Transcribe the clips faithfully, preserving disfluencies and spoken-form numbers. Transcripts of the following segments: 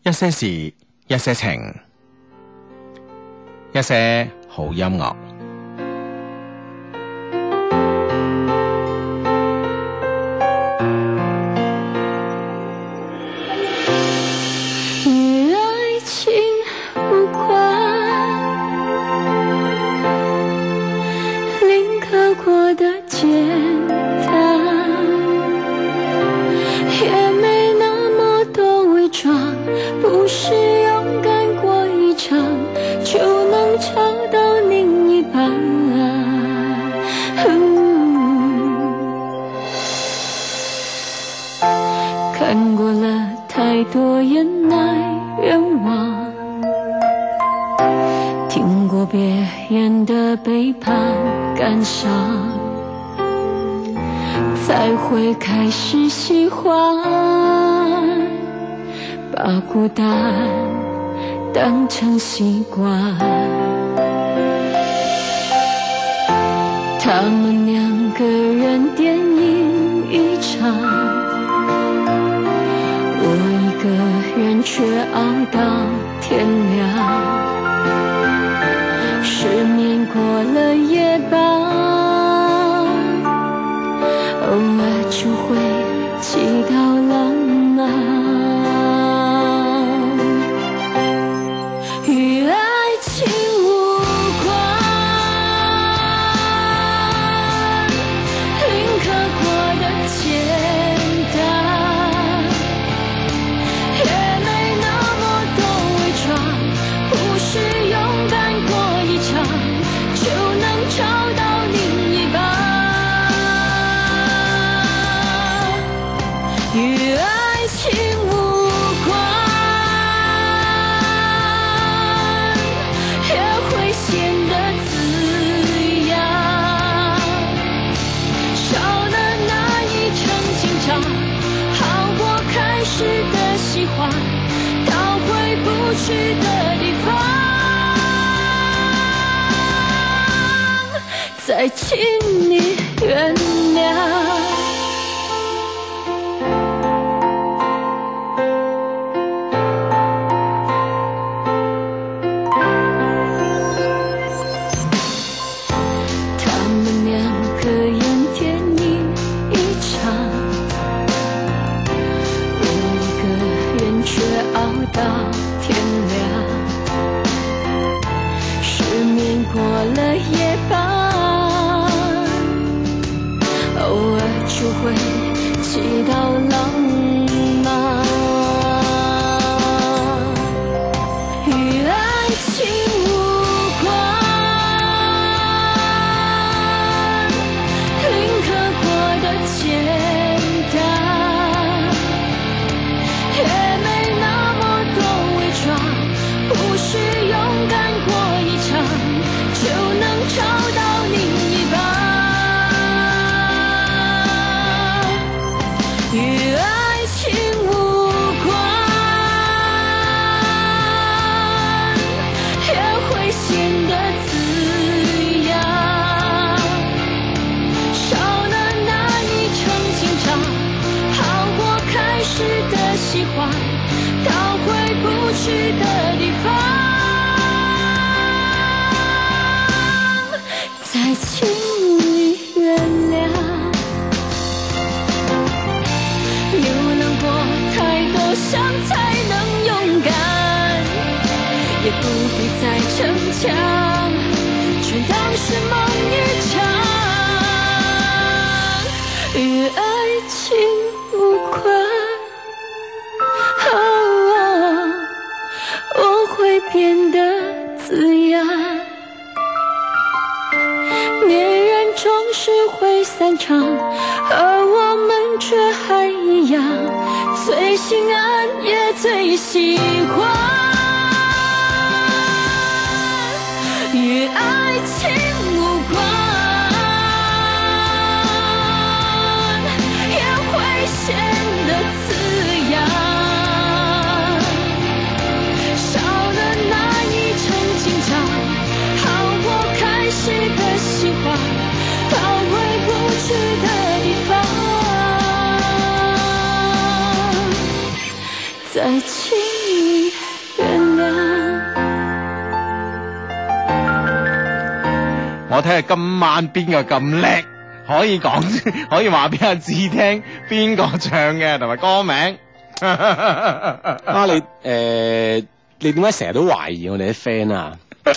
一些事，一些情，一些好音樂。 與愛情無關，臨刻過得簡單，也沒那麼多偽裝，不是勇敢過一場就能找到另一半，看過了太多忍耐冤枉，聽過別人的背叛感傷，才會開始喜歡把孤單當成習慣。他們兩個人電影一場，我一個人卻熬到天亮，失眠過了夜班，偶爾就會祈禱浪漫。與愛情無關，臨刻過得簡單，也沒那麼多偽裝，不是勇敢過一場就能找到另一半。與愛情無關，也會顯得自然，少了那一層緊張，好過開始的喜歡到回不去的地方，再請你原諒。到天亮，失眠過了夜班，偶爾就會祈禱浪漫。與愛情無關，臨刻過得簡單，也沒那不是勇敢過一場就能找到另一半。與愛情無關，也會顯得自然，少了那一層緊張，好過開始的喜歡到回不去的地方，再請你原諒。流浪過太多傷才能勇敢，也不必再逞強，全當是夢一場。與愛情無關，我會變得自然，戀人總是會散場，而我們卻還一樣，最心安也最喜歡。與愛情無關，也會顯得自然，少了那一層緊張，好過開始的喜歡到回不去的地方，再請你我睇下今晚邊個咁叻，可以講可以話俾阿志聽邊個唱嘅同埋歌名。 啊，你誒、呃、你點解成日都懷疑我哋啲 friend 啊？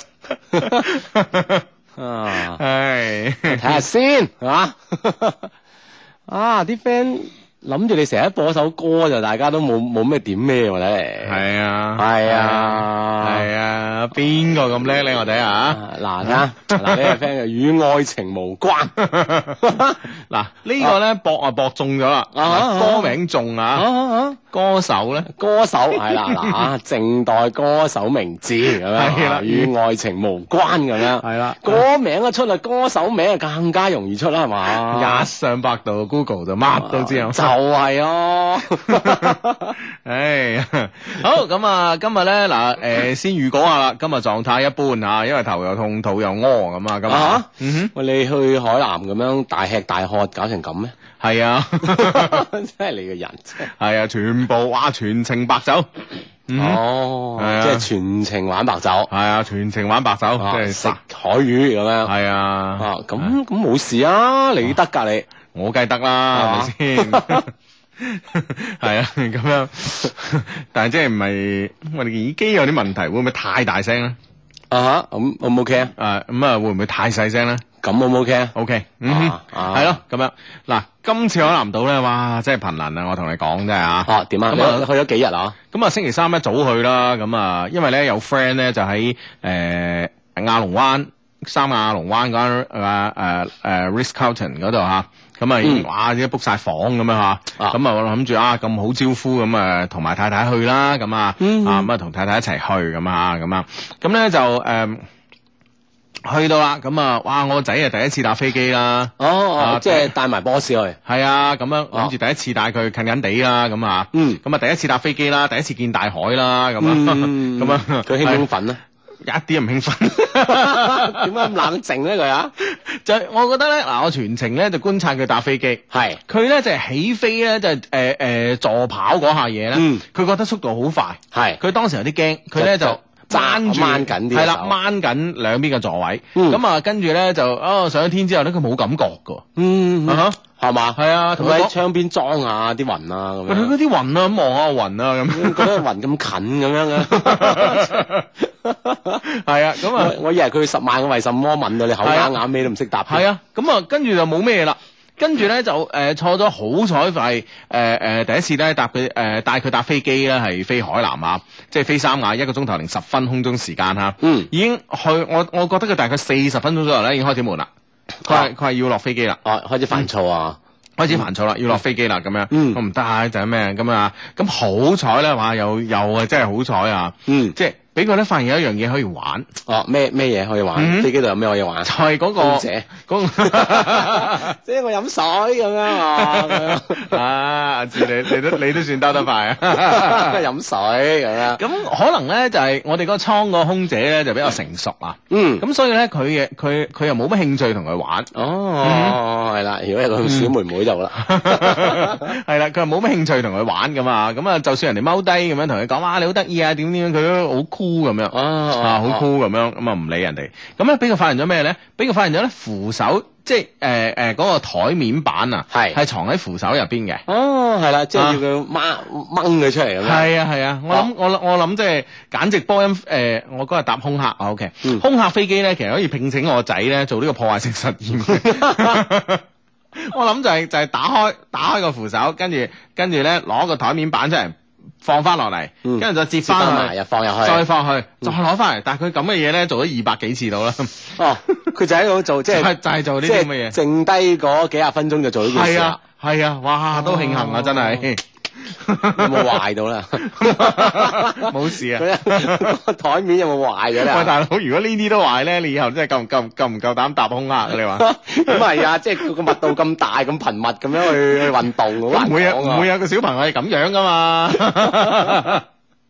啊， 唉， 睇下先係嘛？啊，啲 friend 諗住你成日播首歌就大家都冇冇咩點咩喎，睇嚟。 係啊， 係啊， 係啊，邊個咁叻咧？我睇下。 嗱啊，嗱呢個 friend 與愛情無關。 嗱呢個咧博啊博中咗啦， 啊歌名中啊， 啊歌手咧歌手係啦，嗱啊，靜待歌手名字咁樣， 係啦與愛情無關咁樣。 係啦， 歌名一出啦，歌手名啊更加容易出啦，係嘛？ 一上百度 Google 就乜都知啊。 就係咯。 唉，好咁啊，今日咧嗱，誒先預告下啦，今日狀態一般啊，因為頭又痛，肚又屙咁啊，咁啊，嗯哼， 喂，你去海南咁樣大吃大喝搞成咁咩？ 係啊， 真係你個人真係。 係啊，全部哇全程白酒，嗯哼哦， 係啊即係全程玩白酒， 係啊，全程玩白酒， 啊即係食海魚咁樣。 係啊， 啊，咁咁冇事啊，你得㗎你。 我梗係得啦，係咪先？係啊，咁樣，但係即係唔係我哋耳機有啲問題，會唔會太大聲咧？ 啊哈，咁 O 唔 OK 啊？ 誒，咁啊，會唔會太細聲咧咁 O 唔 OK 啊？ ？OK，嗯哼， 啊啊係咯，咁樣嗱，今次海南島咧，哇，真係頻能啊！我同你講真係啊。 啊，點啊？ 咁啊你去咗幾日啊？ 咁啊，星期三一早去啦，咁啊，因為咧有 friend 咧就喺誒亞龍灣三亞龍灣嗰間誒誒誒 Ritz-Carlton 嗰度嚇。咁啊，已經哇！啲 book 晒房咁樣嚇，咁啊我諗住啊咁好招呼咁啊，同埋太太去啦，咁啊，啊咁啊同太太一齊去咁啊，咁啊，咁咧就誒去到啦，咁啊，哇！我個仔啊第一次搭飛機啦， 哦哦，即係帶埋 boss 去。 係啊，咁樣諗住第一次帶佢近近地啦，咁啊， 嗯， 咁啊第一次搭飛機啦，第一次見大海啦，咁啊，咁啊， 佢興唔興奮咧？ 一啲都唔興奮， 點解咁冷靜咧佢啊？ 就我覺得咧，嗱我全程咧就觀察佢搭飛機， 係佢咧就係起飛咧就係誒誒助跑嗰下嘢咧， 嗯佢覺得速度好快， 係佢當時有啲驚，佢咧就掹住掹緊啲係啦， 手掹緊兩邊嘅座位， 嗯咁啊跟住咧就哦上咗天之後咧佢冇感覺㗎， 嗯啊係嘛？ 係啊，同同喺佢講窗邊裝下啲雲啊咁佢樣。 嗰啲雲啊，咁望下雲啊咁， 覺得雲咁近咁樣嘅。 係啊，咁啊我我以為佢十萬個為什麼問到你口啞啞咩都唔識答。 係啊，咁啊跟住就冇咩啦。跟住咧就誒、呃、錯咗好彩係誒誒第一次咧搭佢誒帶佢搭飛機咧係飛海南啊，即係飛三亞一個鐘頭零十分空中時間嚇， 嗯， 已經去我我覺得佢大概四十分鐘左右咧已經開始悶啦，佢係佢係要落飛機啦， 哦開始煩躁啊， 開始煩躁啦，要落飛機啦咁樣， 嗯我唔得啊就係咩咁啊，咁好彩咧話又又啊真係好彩啊， 嗯， 即係俾佢咧發現有一樣嘢可以玩， 哦咩咩嘢可以玩？ 嗯飛機度有咩可以玩？ 就係嗰個空姐嗰個。 即係我飲水咁樣啊，咁樣啊，阿志你你都你都算兜得快啊！ 飲水咁樣。 咁可能咧就係、是、我哋嗰個倉個空姐咧就比較成熟啊， 嗯， 咁所以咧佢嘅佢佢又冇乜興趣同佢玩。 哦，係啦，如果有個小妹妹就好啦。 係啦，佢又冇乜興趣同佢玩咁啊，咁啊就算人哋踎低咁樣同佢講，哇你好得意啊，點點樣佢都好酷咁樣， 哦啊好酷咁樣，咁啊唔理人哋。咁咧俾佢發現咗咩咧？俾佢發現咗咧扶手，即係誒誒嗰個台面板啊， 係係藏喺扶手入邊嘅。 哦，係啦，即係要佢掹掹佢出嚟咁樣。 係啊係啊，我諗我我諗即係簡直波音誒、呃，我嗰日搭空客啊 OK，、 嗯、 空客飛機咧其實可以聘請我個仔咧做呢個破壞性實驗。我諗就係、是、就係、是、打開打開個扶手，跟住跟住咧攞個台面板出嚟放翻落嚟，跟住、嗯、再接翻埋又放入去， 再放去，再攞翻嚟。但係佢咁嘅嘢咧做咗二百幾次到啦。 哦，佢就喺度做即係就係做呢啲咁嘅嘢， 剩低嗰幾廿分鐘就做呢件事啦。 係啊，哇，都慶幸啊，真係。 有冇壞到啦？ 冇事啊！ 個台面有冇壞咗咧？ 喂，大佬，如果呢啲都壞咧，你以後真係夠唔夠夠唔夠膽搭空客？你話咁係啊，即係佢個密度咁大、咁頻密咁樣去去運動，好難講啊！ 唔會有唔會有個小朋友係咁樣噶嘛？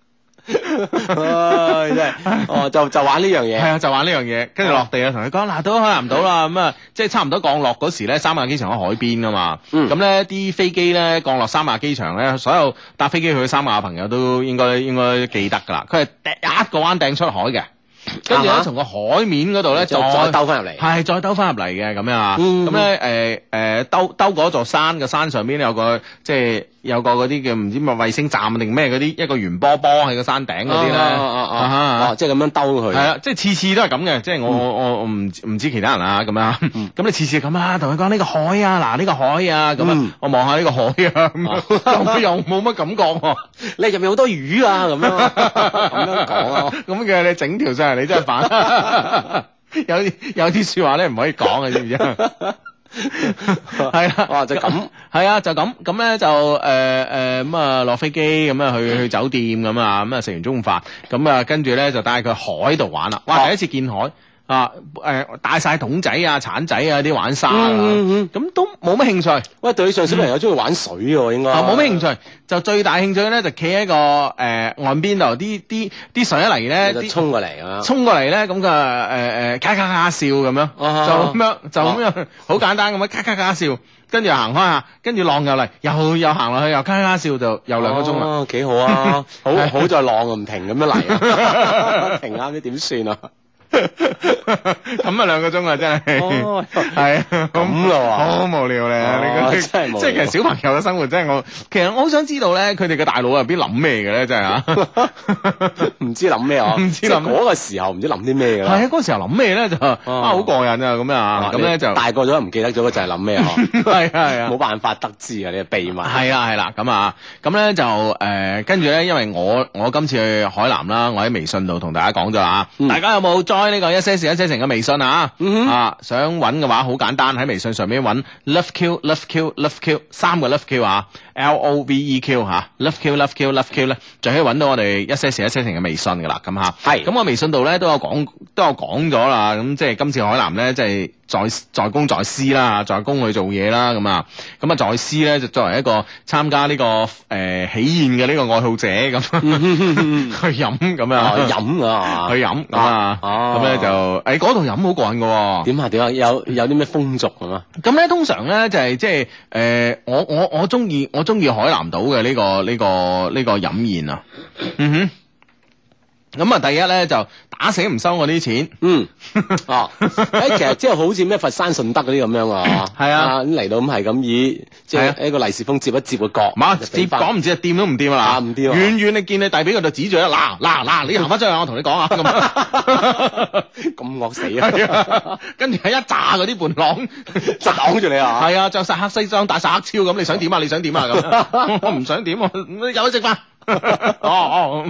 唉，真係哦，就就玩呢樣嘢， 係啊，就玩呢樣嘢，跟住落地啊，同佢講嗱，到海南島啦，咁啊，即係差唔多降落嗰時咧，三亞機場喺海邊噶嘛，咁咧啲飛機咧降落三亞機場咧，所有搭飛機去三亞嘅朋友都應該應該記得噶啦，佢係一個彎掟出海嘅， 跟住咧啊哈從個海面嗰度咧再再兜翻入嚟。 係再兜翻入嚟嘅咁樣啊， 嗯咁咧誒誒兜兜嗰座山嘅山上邊有個即係有個嗰啲叫唔知咩衛星站定咩嗰啲一個圓波波喺個山頂嗰啲咧， 啊啊啊啊！哦，即係咁樣兜佢。 係啊，即係次次都係咁嘅，即係我我我我唔唔知其他人啊咁樣，咁你次次咁啊，同佢講呢個海啊，嗱呢個海啊咁啊，我望下呢個海啊，咁又冇乜感覺喎， 你入面好多魚啊咁樣，咁樣講啊。 咁嘅你整條上嚟你真係煩，有啲有啲説話咧唔可以講嘅，知唔知啊？係啦， 哇就咁， 係啊，就咁咁咧就誒誒咁啊落飛機咁啊去去酒店咁啊咁啊食完中午飯咁啊跟住咧就帶佢海度玩啦，哇第一次見海啊誒帶晒桶仔啊鏟仔啊啲玩沙啊，咁都冇乜興趣。 喂，對上小朋友中意玩水喎，應該啊冇乜興趣，就最大興趣咧就企喺個誒岸邊度，啲啲啲水一嚟咧，啲就衝過嚟啊， 衝過嚟咧，咁嘅誒誒咔咔咔笑咁樣，就咁樣就咁樣好簡單咁樣咔咔咔笑，跟住行開下，跟住浪又嚟，又又行落去，又咔咔笑，就又兩個鐘啦。 哦，幾好啊！好好在浪唔停咁樣嚟啊，停啱啲點算啊？ 咁啊兩個鐘啊真係， 哦係啊咁咯喎好無聊咧， 哦你覺得真係無聊即係其實小朋友嘅生活真係我，其實我好想知道咧，佢哋嘅大腦入邊諗咩嘅咧，真係啊， 唔知諗咩啊？ 唔知諗即係嗰個時候唔知諗啲咩㗎啦。 係啊嗰時候諗咩咧就啊好過癮啊咁啊，咁咧就大個咗唔記得咗就係諗咩啊？ 係啊係啊冇。辦法得知啊！你嘅秘密係啊係啦，咁啊，咁咧就誒，跟住咧，因為我我今次去海南啦，我喺微信度同大家講咗啦， 嗯大家有冇 join 呢個一些事一些情嘅微信啊？ 嗯哼啊，想揾嘅話好簡單，喺微信上面揾 love q love q love q 三個 love q 啊 ，L O V E Q 吓，love q love q love q 咧，就可以揾到我哋一些事一些情嘅微信噶啦，咁吓。 係咁我微信度咧都有講都有講咗啦，咁即係今次海南咧即係。在在公在私啦，在公去做嘢啦，咁啊，咁啊在私咧就作為一個參加呢、這個誒、呃、喜宴嘅呢個愛好者咁，去飲咁啊， 飲啊， 去飲咁啊，咁咧就誒嗰度飲好過癮嘅喎。 點啊點啊？有有啲咩風俗咁啊？ 咁咧通常咧就係即係誒我我我中意我中意海南島嘅呢個呢、這個呢、這個飲宴啊，嗯哼。咁啊，第一咧就打死唔收我啲錢。 嗯，哦，誒，其實即係好似咩佛山順德嗰啲咁樣啊， 係啊， 咁嚟到咁係咁以即係一個利是封接一接個角， 嘛接講唔知啊，掂都唔掂啊嗱， 唔掂， 遠遠你見你遞俾佢就指住啦，嗱嗱嗱，你行翻出去，我同你講啊，咁咁惡死啊！ 跟住係一紮嗰啲伴郎就擋住你啊， 係啊，着晒黑西裝，戴晒黑超咁，你想點啊？你想點啊？咁我唔想點，我有得食飯。哦哦。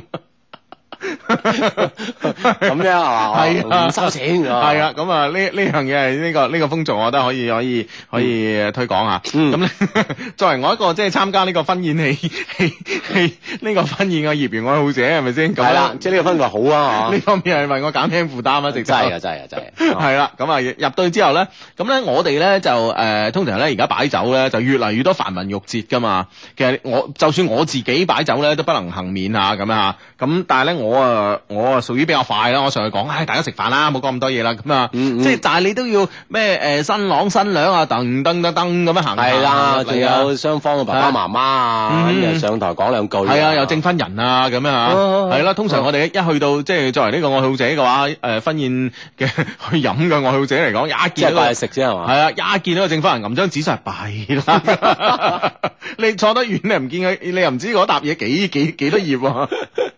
咁樣係嘛？ 係啊， 唔收錢㗎。 係啊，咁啊呢呢樣嘢係呢個呢個風俗，我覺得可以可以可以推廣下。咁咧，作為我一個即係參加呢個婚宴戲戲戲呢個婚宴嘅業餘愛好者，係咪先？ 係啦，即係呢個氛圍好啊！ 呢方面係為我減輕負擔啊！直真係啊，真係啊，真係。 係啦，咁啊入到去之後咧，咁咧我哋咧就誒通常咧而家擺酒咧就越嚟越多繁文縟節㗎嘛。其實我就算我自己擺酒咧都不能幸免啊咁啊。咁但係咧我啊我啊屬於比較快啦，我上去講，唉大家食飯啦，冇講咁多嘢啦，咁啊，即係但係你都要咩誒新郎新娘啊，噔噔噔噔咁樣行。 係啦，仲有雙方嘅爸爸媽媽啊，咁又上台講兩句。 係啊，有證婚人啊，咁樣啊，係啦。通常我哋一去到即係作為呢個愛好者嘅話，誒婚宴嘅去飲嘅愛好者嚟講，一見到食啫係嘛。 係啊，一見到個證婚人揞張紙就係弊啦。你坐得遠你唔見佢，你又唔知嗰沓嘢幾幾幾多頁喎。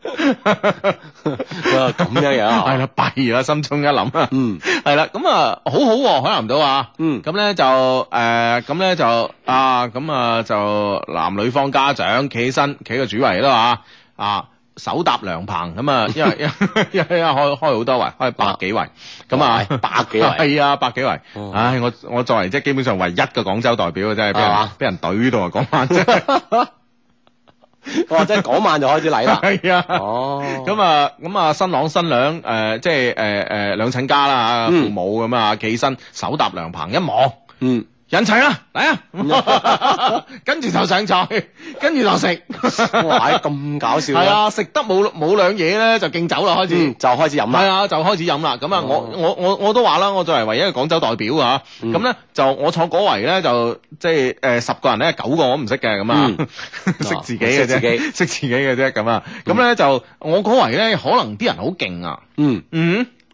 咁樣樣係啦，弊啦，心中一諗啊，嗯，係啦，咁啊，好好喎，海南島啊，嗯，咁咧就誒，咁咧就啊，咁啊就男女方家長企起身，企個主圍啦嚇，啊，手搭涼棚咁啊，因為因為因為開開好多圍，開百幾圍，咁啊， 百幾圍， 係啊，百幾圍，唉，我我作為即係基本上唯一嘅廣州代表，真係俾人俾人懟到啊，講翻真係。 哇！即係嗰晚就開始嚟啦。 係啊。 哦。 咁啊，咁啊，新郎新娘誒，即係誒誒兩親家啦嚇，父母咁啊，企起身手搭涼棚一望，嗯，人齊啦，嚟啊！跟住就上菜，跟住就食。 哇！咁搞笑。 係啊，食得冇冇兩嘢咧，就敬酒啦，開始就開始飲啦。 係啊，就開始飲啦。咁啊，我我我我都話啦，我作為唯一嘅廣州代表啊，咁咧就我坐嗰圍咧就即係誒十個人咧九個我唔識嘅咁啊，識自己嘅啫，識自己嘅啫咁啊。咁咧就我嗰圍咧可能啲人好勁啊。嗯嗯。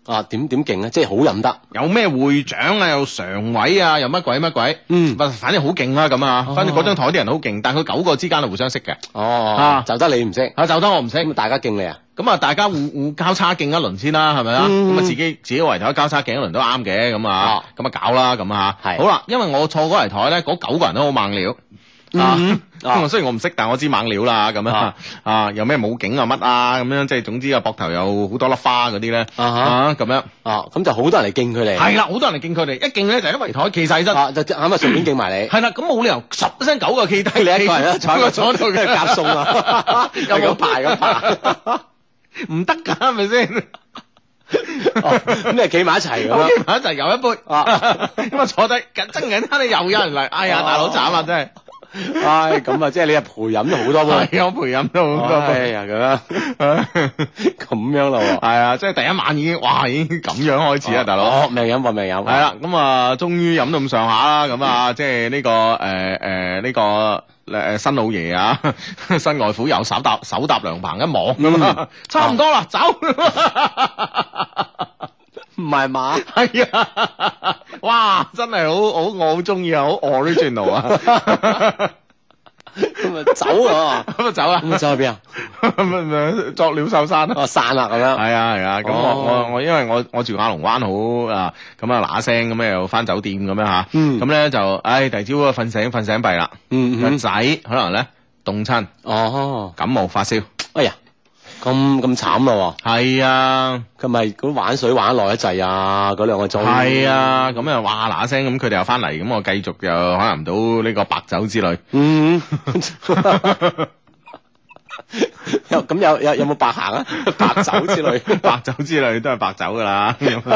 啊，點點勁咧？即係好飲得。 有咩會長啊，有常委啊，又乜鬼乜鬼， 嗯， 反正好勁啦咁啊。反正嗰張台啲人好勁，但係佢九個之間係互相識嘅。 哦， 啊就得你唔識， 啊就得我唔識， 咁大家敬你啊？ 咁啊大家互互交叉敬一輪先啦，係咪啊？ 嗯咁啊自己自己圍台交叉敬一輪都啱嘅，咁啊咁啊搞啦咁啊。 係好啦，因為我坐嗰圍台咧，嗰九個人都好猛料。啊，咁雖然我唔識，但我知猛料啦，咁樣啊，有咩武警啊乜啊，咁樣即係總之啊，膊頭有好多粒花嗰啲咧，啊咁樣， 啊咁就好多人嚟敬佢哋， 係啦，好多人嚟敬佢哋，一敬咧就喺圍台企晒起身， 啊就啱啊順便敬埋你， 係啦，咁冇理由十聲九個企低，你一個人咧坐喺個坐度嘅夾餸啊，有冇排咁排？ 唔得㗎，係咪先？ 咁你係企埋一齊咁樣， 企埋一齊有一杯，咁啊坐低，緊爭緊間你又有人嚟，哎呀大佬慘啊真係！ 唉，咁啊，即係你係陪飲咗好多杯， 係我陪飲咗好多杯， 哎呀咁樣，咁樣咯， 係啊，即係第一晚已經，哇，已經咁樣開始啦，大佬， 哦，命飲搏命飲， 係啦，咁啊，終於飲到咁上下啦，咁啊，即係呢個誒誒呢個誒新老爺啊，新外父又手搭手搭涼棚一望咁啊，差唔多啦，走。 唔係嘛？ 係啊！哇，真係好好，我好中意啊，好 original 啊！ 咁啊走啊， 咁啊走啊！ 咁啊走去邊啊？ 咁啊作鳥獸散哦，散啦咁樣。 係啊係啊，咁我我我因為我我住亞龍灣好啊，咁啊嗱聲咁又翻酒店咁樣吓，咁咧就唉第二朝瞓醒瞓醒閉啦，個仔可能咧凍親， 哦感冒發燒， 哎呀！咁咁慘咯， 係啊， 佢咪嗰玩水玩得耐一滯啊，嗰兩個鐘。係啊，咁啊哇嗱聲咁，佢哋又翻嚟，咁我繼續又可能唔到呢個白酒之類。 嗯，有咁有有有冇白行啊？白酒之類， 白酒之類都係白酒噶啦。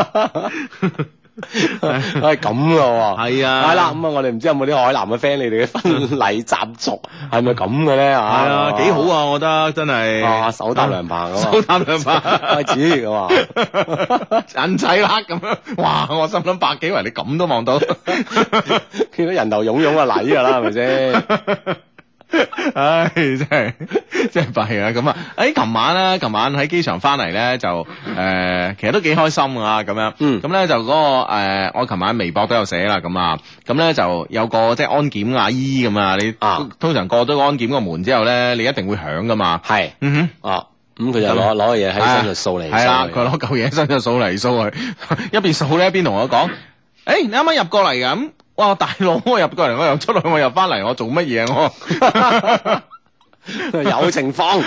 係咁咯， 係啊， 係啦，咁啊，我哋唔知有冇啲海南嘅 friend，你哋嘅婚禮習俗係咪咁嘅咧？係啊，幾好啊，我覺得真係。 啊，手搭涼棚咁啊， 手搭涼棚開始咁啊， 人仔啦咁樣，哇！我心諗百幾圍，你咁都望到， 見到人頭湧湧啊禮噶啦，係咪先？ 唉，真係真係弊啊！咁啊，誒，琴晚咧，琴晚喺機場翻嚟咧，就誒、呃，其實都幾開心啊！咁樣， 嗯， 咁咧就嗰、那個誒、呃，我琴晚微博都有寫啦，咁啊，咁咧就有個即係安檢阿姨咁啊，你啊通常過咗個安檢個門之後咧，你一定會響噶嘛， 係， 嗯哼， 啊。咁佢就攞攞個嘢喺身度掃嚟， 係啦，佢攞嚿嘢喺身度掃嚟掃去，一邊掃咧一邊同我講：，誒、欸，你啱啱入過嚟㗎？咁，哇，大佬，我入過嚟，我又出去，我又翻嚟，我做乜嘢啊？我有情況。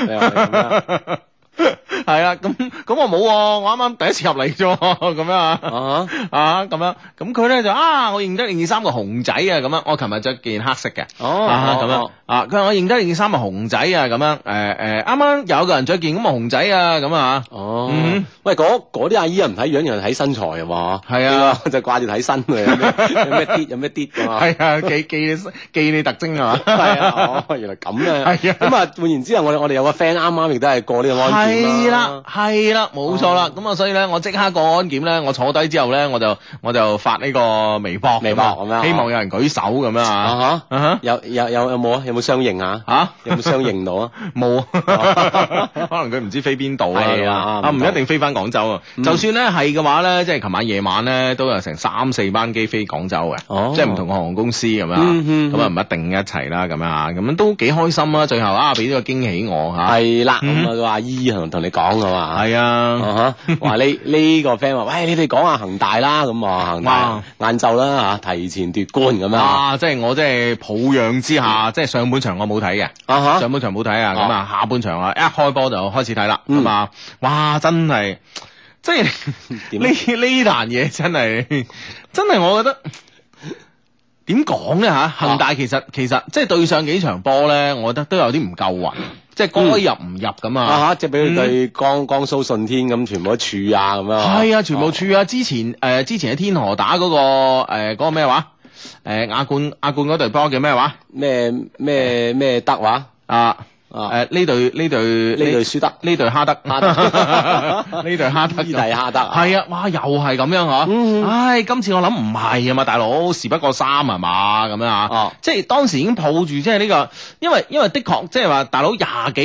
係啊，咁咁我冇，我啱啱第一次入嚟啫，咁樣啊，啊咁樣，咁佢咧就啊，我認得你件衫個熊仔啊，咁樣，我琴日着件黑色嘅， 哦， 咁樣，啊，佢話我認得你件衫係熊仔啊，咁樣，誒誒，啱啱有個人着件咁嘅熊仔啊，咁啊， 哦，喂，嗰嗰啲阿姨又唔睇樣，又睇身材啊嘛，係啊，就掛住睇身嘅，有咩啲有咩啲㗎嘛，係啊，記記你記你特徵啊嘛，係啊，哦，原來咁啊，係啊，咁啊換言之啊，我哋我哋有個 friend 啱啱亦都係過呢個安檢。係啦，係啦，冇錯啦。咁啊，所以咧，我即刻過安檢咧，我坐低之後咧，我就我就發呢個微博，微博咁樣，希望有人舉手咁樣啊。啊有有有有冇啊？有冇相應啊？吓？有冇相應到啊？冇，可能佢唔知飛邊度啊。係啊，啊唔一定飛翻廣州啊。就算咧係嘅話咧，即係琴晚夜晚咧都有成三四班機飛廣州嘅，即係唔同嘅航空公司咁樣。咁啊唔一定一齊啦，咁樣啊，咁樣都幾開心啊！最後啊，俾呢個驚喜我吓。係啦，咁啊個阿姨同同你講噶嘛，係啊，話呢呢個 friend 話，喂，你哋講下恒大啦，咁啊恒大晏晝啦吓，提前奪冠咁樣，啊，即係我即係抱養之下，即係上半場我冇睇嘅，上半場冇睇啊，咁啊下半場啊一開波就開始睇啦，咁啊，哇，真係，即係呢呢壇嘢真係，真係我覺得點講咧吓，恒大其實其實即係對上幾場波咧，我覺得都有啲唔夠運。即係該入唔入咁啊！啊即係俾佢對江江蘇舜天咁，全部都柱啊咁樣。係啊，全部柱啊！之前誒，之前喺天河打嗰個誒，嗰個咩話？誒，亞冠亞冠嗰隊波叫咩話？咩咩咩德話？啊啊誒，呢隊呢隊呢隊輸得，呢隊哈德，哈德呢隊哈德，伊蒂哈德。係啊，哇，又係咁樣嗬！唉，今次我諗唔係啊嘛，大佬，事不過三係嘛咁樣啊！哦，即係當時已經抱住即係呢個，因為因為的確即係話大佬廿幾個人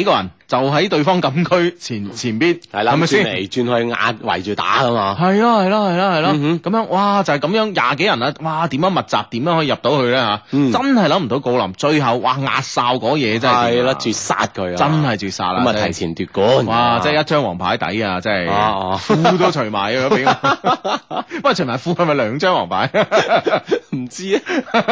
就喺對方禁區前前邊， 係啦， 係咪先？ 轉嚟轉去壓圍住打噶嘛。 係咯係咯係咯係咯， 嗯咁樣哇就係咁樣廿幾人啊，哇點樣密集點樣可以入到去咧嚇？ 嗯真係諗唔到郜林最後哇壓哨嗰嘢真係係啦， 掂啊絕殺佢啊！ 真係絕殺啦！ 咁啊， 真係提前奪冠。 哇！即係一張黃牌底啊！真係啊褲都除埋啊！俾我，喂，除埋褲係咪兩張黃牌？ 唔知啊。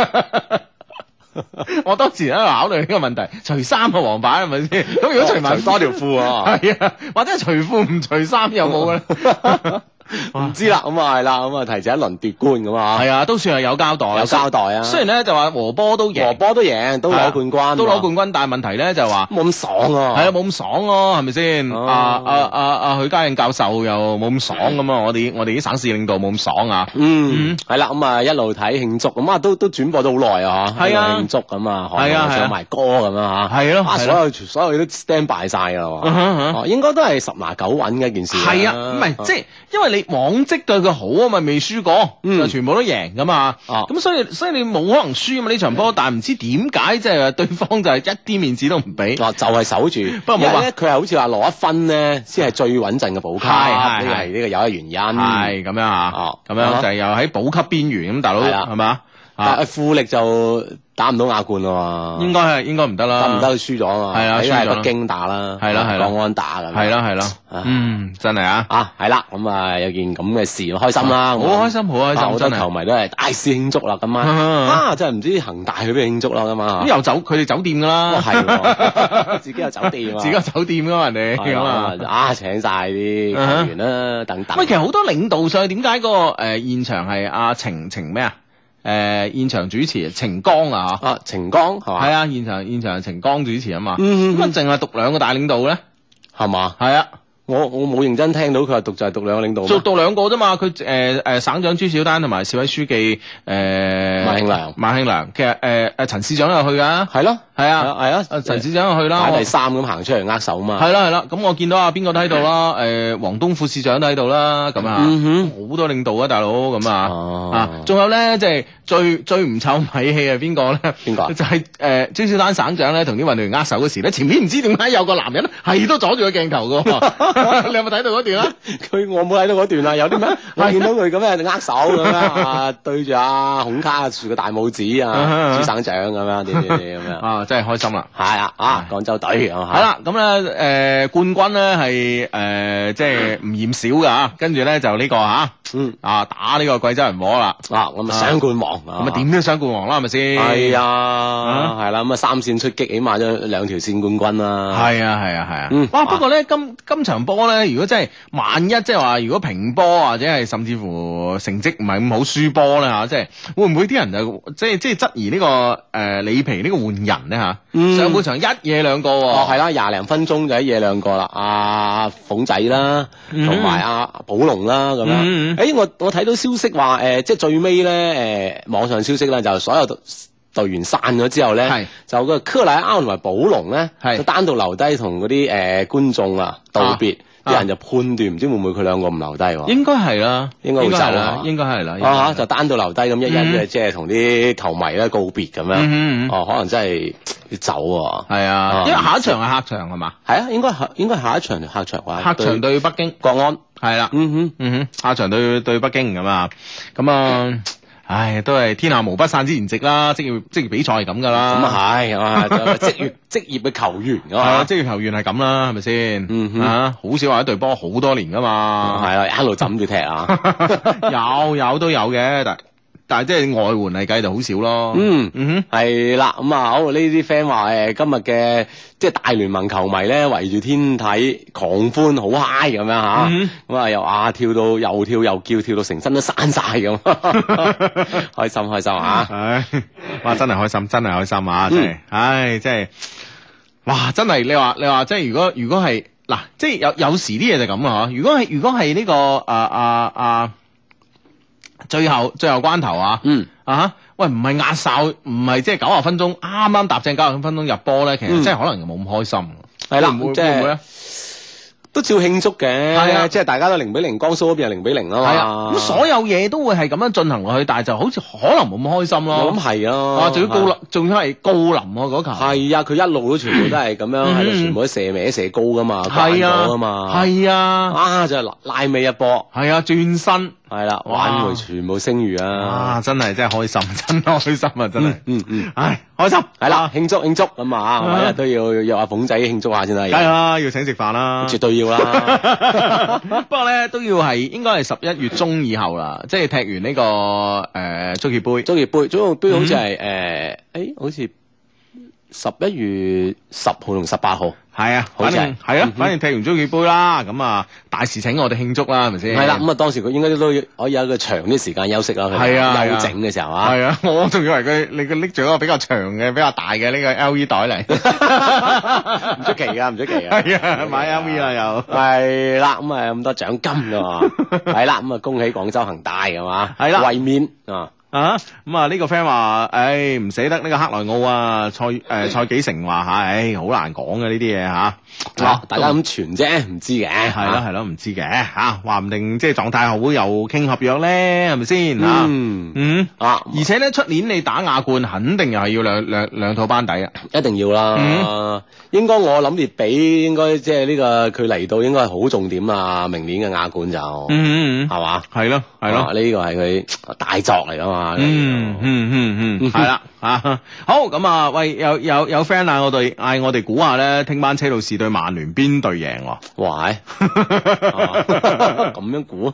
我當時喺度考慮呢個問題，除衫個黃牌係咪先？咁如果除埋除多條褲啊， 係啊，或者係除褲唔除衫有冇咧？ 唔知啦，咁啊係啦，咁啊提前一輪奪冠咁啊， 係啊，都算係有交代， 有交代啊。 雖然咧就話和波都贏， 和波都贏，都攞冠軍， 都攞冠軍，但係問題咧就話冇咁爽啊， 係啊，冇咁爽咯，係咪先？啊啊啊啊！許家印教授又冇咁爽咁啊，我哋我哋啲省市領導冇咁爽啊。 嗯，係啦，咁啊一路睇慶祝，咁啊都都轉播咗好耐啊，嚇， 係啊， 慶祝咁啊， 係啊， 唱埋歌咁啊嚇， 係咯， 啊所有所有嘢都 stand by 晒㗎啦喎，哦應該都係十拿九穩嘅一件事。 係啊，唔係即係因為你往績對佢好啊嘛，未輸過，就全部都贏噶嘛。咁所以所以你冇可能輸啊嘛呢場波，但係唔知點解即係話對方就係一啲面子都唔俾， 就係守住。 不過冇話咧，佢係好似話攞一分咧，先係最穩陣嘅補級。係呢個係呢個有一原因。 係咁樣啊，咁樣就係又喺補級邊緣咁，大佬係嘛？ 但係富力就打唔到亞冠咯喎， 應該係應該唔得啦， 得唔得？輸咗啊嘛， 係啊，輸喺北京打啦， 係啦係啦， 國安打咁， 係啦係啦，嗯，真係啊， 啊係啦，咁啊有件咁嘅事，開心啦， 好開心好開心， 好多球迷都係大肆慶祝啦，今晚啊真係唔知恒大去邊慶祝啦，今晚咁又走佢哋酒店噶啦， 係，自己有酒店， 自己有酒店噶嘛人哋，咁啊啊請晒啲球員啦等等， 喂，其實好多領導上點解嗰個誒現場係阿程程咩啊？誒、呃、現場主持程剛啊嚇， 啊程剛係嘛？ 係啊，現場現場係程剛主持啊嘛， 嗯咁啊淨係讀兩個大領導咧， 係嘛？ 係啊。 我我冇認真聽到佢話讀就係讀兩個領導， 做讀兩個啫嘛。佢誒誒省長朱小丹同埋市委書記誒、呃、 馬慶良， 馬慶良其實誒誒陳市長又去㗎，係咯，係啊，係啊，啊陳市長又去啦， 排第三咁行出嚟握手嘛， 係啦係啦。咁我見到啊邊個都喺度啦，誒黃東副市長都喺度啦，咁啊，好多領導啊大佬咁啊，啊仲有咧即係最最唔臭米氣係邊個咧？邊個？就係誒朱小丹省長咧同啲運動員握手嗰時咧，前面唔知點解有個男人係都阻住個鏡頭㗎。你有冇睇到嗰段啊？ 佢我冇睇到嗰段啊，有啲咩？我見到佢咁樣握手咁樣啊，對住阿孔卡豎個大拇指啊，朱省長咁樣點點點咁樣啊，真係開心啦！ 係啊，啊廣州隊係啦，咁咧誒冠軍咧係誒即係唔嫌少㗎嚇，跟住咧就呢個嚇，嗯啊打呢個貴州人和啦， 啊咁啊雙冠王， 咁啊點都雙冠王啦係咪先？ 係啊，係啦，咁啊三線出擊，起碼都兩條線冠軍啦。 係啊係啊係啊，哇！不過咧今今場波咧，如果真係萬一即係話，如果平波或者係甚至乎成績唔係咁好輸波咧嚇，即係會唔會啲人就即係即係質疑呢個誒里皮呢個換人咧嚇？上半場一嘢兩個喎， 哦係啦，廿零分鐘就一嘢兩個啦，阿鳳仔啦，同埋阿寶龍啦咁樣。誒我我睇到消息話誒，即係最尾咧誒網上消息咧，就所有隊員散咗之後咧，就個克萊奧同埋寶龍咧，就單獨留低同嗰啲誒觀眾啊道別。啲人就判斷唔知會唔會佢兩個唔留低喎？ 應該係啦， 應該會走啦， 應該係啦。 啊就單獨留低咁一一嘅，即係同啲球迷咧告別咁樣。哦，可能真係要走喎。 係啊，因為下一場係客場係嘛？ 係啊，應該係應該下一場客場話。 客場對北京國安係啦。嗯哼嗯哼，客場對對北京咁啊，咁啊。唉，都係天下無不散之筵席啦，職業職業比賽係咁噶啦。 咁啊係，啊職業職業嘅球員啊嘛， 職業球員係咁啦，係咪先？嗯哼，啊，好少話一隊波好多年噶嘛。 係啊，一路枕住踢啊。 有有都有嘅，但但係即係外援嚟計就好少咯。 嗯嗯哼，係啦，咁啊好呢啲 friend 話誒今日嘅即係大聯盟球迷咧圍住天體狂歡好 high 咁樣吓，咁啊又啊跳到又跳又叫，跳到成身都散晒咁，開心開心啊！ 唉，哇真係開心，真係開心啊！真係，唉真係，哇真係你話你話即係如果如果係嗱，即係有有時啲嘢就咁啊！如果係如果係呢個啊啊啊最後最後關頭啊，嗯啊喂唔係壓哨，唔係即係九十分鐘啱啱踏正九十分鐘入波咧，其實真係可能冇咁開心。 係啦， 即係都照慶祝嘅， 係啊即係大家都零比零，江蘇嗰邊係零比零啊嘛。 係啊，咁所有嘢都會係咁樣進行落去，但係就好似可能冇咁開心咯。 我諗係啊， 啊，仲要高林，仲要係高林喎嗰球。 係啊，佢一路都全部都係咁樣喺度，全部都射歪射高噶嘛， 係啊啊嘛， 係啊， 啊就係拉尾一波， 係啊，轉身。 係啦，挽回全部聲譽啊！ 啊，真係真係開心，真開心啊！真係， 嗯嗯， 唉，開心係啦，慶祝慶祝咁啊，每日都要約阿鳳仔慶祝下先啦。 梗係啦，要請食飯啦， 絕對要啦。 不過咧都要係應該係十一月中以後啦，即係踢完呢個誒足協杯， 足協杯，足協杯好似係誒，誒好似十一月十號同十八號。 係啊，反正係啊，反正踢完足協杯啦，咁啊大事請我哋慶祝啦，係咪先？ 係啦，咁啊當時佢應該都可以有一個長啲時間休息啦， 係啊， 休整嘅時候啊。 係啊，我仲以為佢你佢拎住一個比較長嘅、比較大嘅呢個 L V 袋嚟， 唔出奇噶，唔出奇噶。 係啊，買 L V 啦又。 係啦，咁啊咁多獎金噶嘛，係啦，咁啊恭喜廣州恒大係嘛， 係啦， 衛冕啊。 啊咁啊呢個 friend 話，誒唔捨得呢個克萊奧啊，蔡誒蔡紀成話吓，誒好難講嘅呢啲嘢吓， 哦大家咁傳啫，唔知嘅， 係咯係咯唔知嘅吓，話唔定即係狀態好又傾合約咧，係咪先吓？ 嗯嗯啊， 而且咧出年你打亞冠，肯定又係要兩兩兩套班底啊， 一定要啦。應該我諗列比應該即係呢個佢嚟到應該係好重點啊，明年嘅亞冠就嗯嗯係嘛， 係咯係咯， 呢個係佢大作嚟噶嘛。 嗯嗯嗯嗯，係啦啊，好咁啊，喂，有有有 friend 嗌我哋嗌我哋估下咧，聽晚車路士對曼聯邊隊贏喎？ 哇，咁樣估？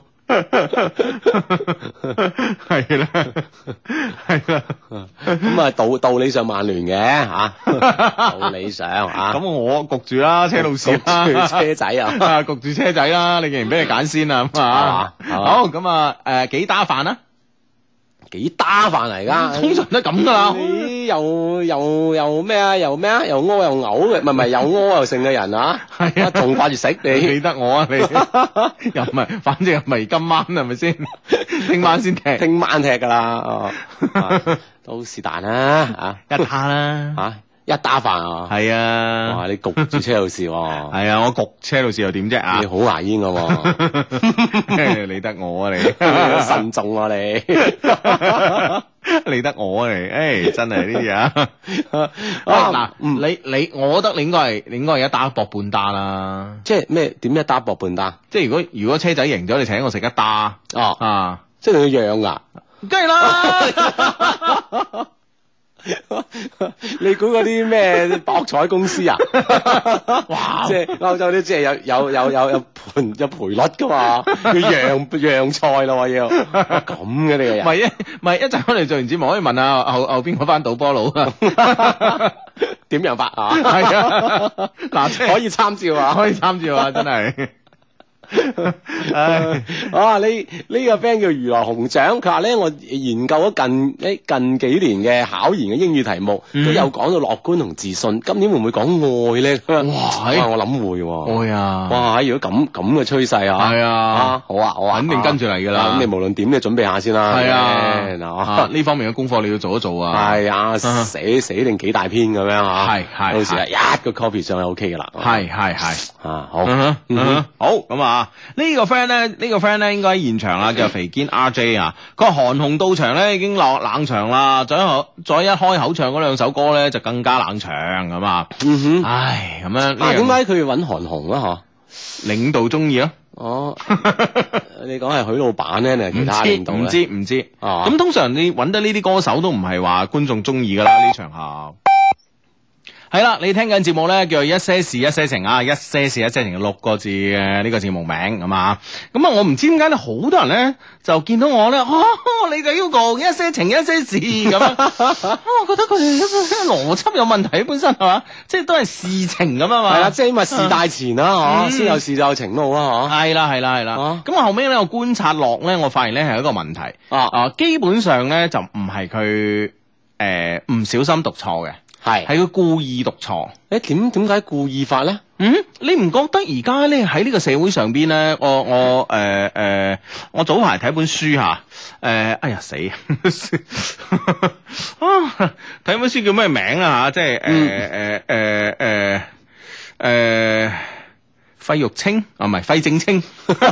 係啦，係啦， 咁啊道道理上曼聯嘅吓，道理上吓， 咁我焗住啦，車路士啦， 車仔啊， 焗住車仔啦，你既然俾你揀先啊，咁啊，好咁啊，誒幾打飯啊？ 幾打飯嚟噶， 通常都咁噶啦。 你又又又咩啊？又咩啊？又屙又嘔嘅，唔係唔係又屙又剩嘅人啊？係啊，仲掛住食你？ 記得我啊你？又唔係，反正又唔係今晚係咪先？聽晚先踢， 聽晚踢噶啦。哦，都是但啦， 吓一打啦， 吓。一打飯啊， 係啊， 哇！你焗住車路士喎， 係啊，我焗車路士又點啫啊？ 你好牙煙噶喎， 理得我啊你， 慎重啊你， 理得我啊你，誒真係呢啲啊，嗱，你你，我覺得你應該係你應該係一打搏半打啦， 即係咩點一打搏半打？ 即係如果如果車仔贏咗，你請我食一打， 哦啊， 即係你要讓噶， 梗係啦。 你估嗰啲咩博彩公司啊？哇！即係歐洲啲即係有有有有有盤有賠率噶嘛？要讓讓賽咯，要咁嘅你個人。 唔係一唔係一陣我哋做完節目可以問下後後邊嗰班賭波佬啊？ 點樣法啊？ 係啊，嗱，即係可以參照啊， 可以參照啊，真係。 唉，啊呢呢個 friend 叫娛樂紅獎，佢話咧我研究咗近誒近幾年嘅考研嘅英語題目，都有講到樂觀同自信，今年會唔會講愛咧？哇！我諗會喎， 愛啊！ 哇！如果咁咁嘅趨勢啊， 係啊， 好啊好啊， 肯定跟住嚟噶啦。 咁你無論點，你準備下先啦。 係啊，呢方面嘅功課你要做一做啊。 係啊，寫寫定幾大篇咁樣嚇。係係，到時啊一個 copy 上就 OK 噶啦。 係係係啊，好， 好咁啊。呢個 friend 咧，呢個 friend 咧應該喺現場啦，叫肥堅 R J 啊。佢話韓紅到場咧已經落冷場啦，再一再一開口唱嗰兩首歌咧就更加冷場咁啊。嗯哼，唉，咁樣。啊， 點解佢要揾韓紅啊？嗬， 領導中意咯。 哦，你講係許老闆咧定係其他領導咧？ 唔知唔知。 哦， 咁通常你揾得呢啲歌手都唔係話觀眾中意噶啦，呢場合。係啦，你聽緊節目咧，叫做一些事一些情啊，一些事一些情六個字嘅呢個節目名咁啊。咁啊，我唔知點解咧，好多人咧就見到我咧，哦，你就 Hugo 一些情一些事咁啊。我覺得佢哋邏輯有問題，本身係嘛，即係都係事情咁啊嘛。 係啦，即係因為事大前啦，嗬，先有事就有情咯，嗬。係啦，係啦，係啦。咁我後尾咧，我觀察落咧，我發現咧係一個問題啊啊，基本上咧就唔係佢誒唔小心讀錯嘅。係，係佢故意讀錯。 誒，點點解故意法咧？ 嗯，你唔覺得而家咧喺呢個社會上邊咧，我我誒誒、呃呃，我早排睇本書吓，誒、呃，哎呀死啊！睇本書叫咩名啊吓？即係誒誒誒誒誒。 費玉清啊，唔係費正清，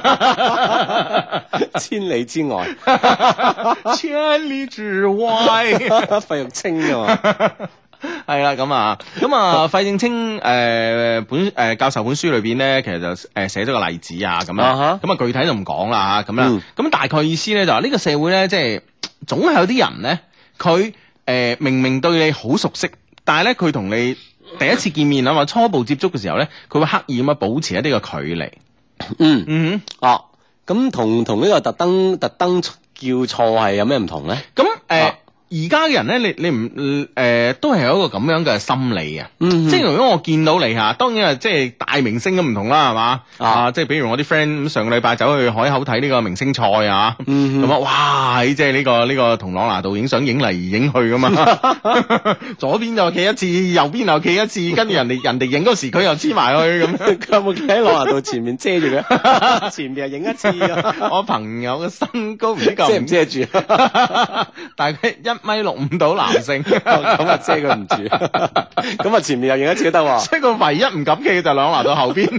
千里之外， 千里之外， 費玉清啊嘛。 係啦，咁啊，咁啊，費正清誒、呃、本誒、呃、教授本書裏邊咧，其實就誒寫咗個例子啊，咁啊，咁啊具體就唔講啦嚇，咁啦，咁、嗯、大概意思咧就話呢個社會咧，即係總係有啲人咧，佢誒、呃、明明對你好熟悉，但係咧佢同你第一次見面啊嘛，初步接觸嘅時候咧，佢會刻意咁樣保持一啲嘅距離。 嗯嗯哼， 哦，咁同同呢個特登特登叫錯係有咩唔同咧？ 咁誒。呃啊而家嘅人咧，你你唔誒、呃、都係有一個咁樣嘅心理嘅，嗯、即係如果我見到你嚇，當然係即係大明星都唔同啦，係嘛啊？即係比如我啲 friend 咁上個禮拜走去海口睇呢個明星賽啊，咁啊、嗯、哇！即係呢、呢個呢、呢個同朗拿度影相影嚟影去噶嘛，左邊就企一次，右邊又企一次，跟住人哋人哋影嗰時佢又黐埋去咁， 佢有冇企喺朗拿度前面遮住佢？前面又影一次啊！ 我朋友嘅身高唔知夠遮唔遮住， 但係佢一米六五到男性， 咁啊遮佢唔住，咁啊前面又影一次都得喎。 所以佢唯一唔敢企嘅就朗拿度後邊，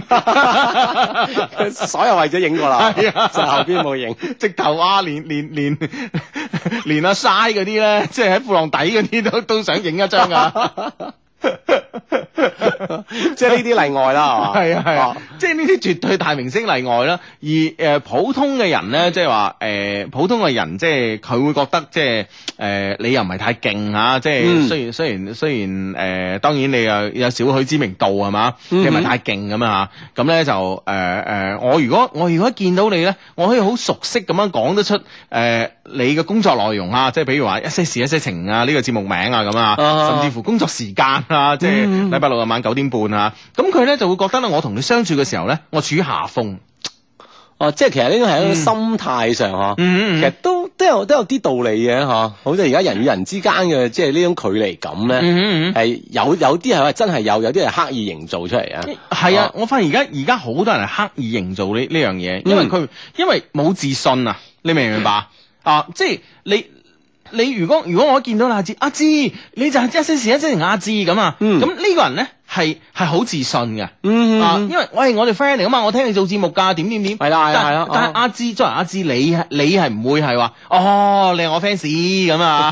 所有位置影過啦，就後邊冇影。 直頭啊，連連連連阿嘥嗰啲咧，即係喺褲浪底嗰啲都都想影一張噶。 即係呢啲例外啦， 係嘛？係啊係啊，即係呢啲絕對大明星例外啦。而誒、呃、普通嘅人咧，即係話誒普通嘅人，即係佢會覺得即係誒、呃、你又唔係太勁嚇，即係雖然雖然雖然誒、呃、當然你又有少許知名度係嘛，你唔係太勁咁啊嚇。咁咧就誒誒、呃、我如果我如果見到你咧，我可以好熟悉咁樣講得出誒、呃、你嘅工作內容啊，即係比如話一些事一些情啊，呢、這個節目名啊咁啊，甚至乎工作時間啊，即係禮拜六日晚九點半啊，咁佢咧就會覺得咧，我同你相處嘅時候咧，我處於下風。 哦，即係其實呢個係一個心態上嗬， 嗯、 其實都都有都有啲道理嘅嗬。好似而家人與人之間嘅即係呢種距離感咧，係、嗯嗯、有有啲係話真係有，有啲係刻意營造出嚟啊。 係啊，我發現而家而家好多人係刻意營造呢呢樣嘢，因為佢、嗯、因為冇自信啊，你明唔明白啊？即係你。你如果如果我見到阿志，阿志你就係一些事一些情阿志咁啊，咁呢、嗯、個人咧係係好自信嘅，嗯啊，因為喂我哋 friend 嚟噶嘛，我聽你做節目㗎，點點點，係啦係啦係啦，但係阿志作為阿志，你係你係唔會係話，哦你係我 fans 咁啊，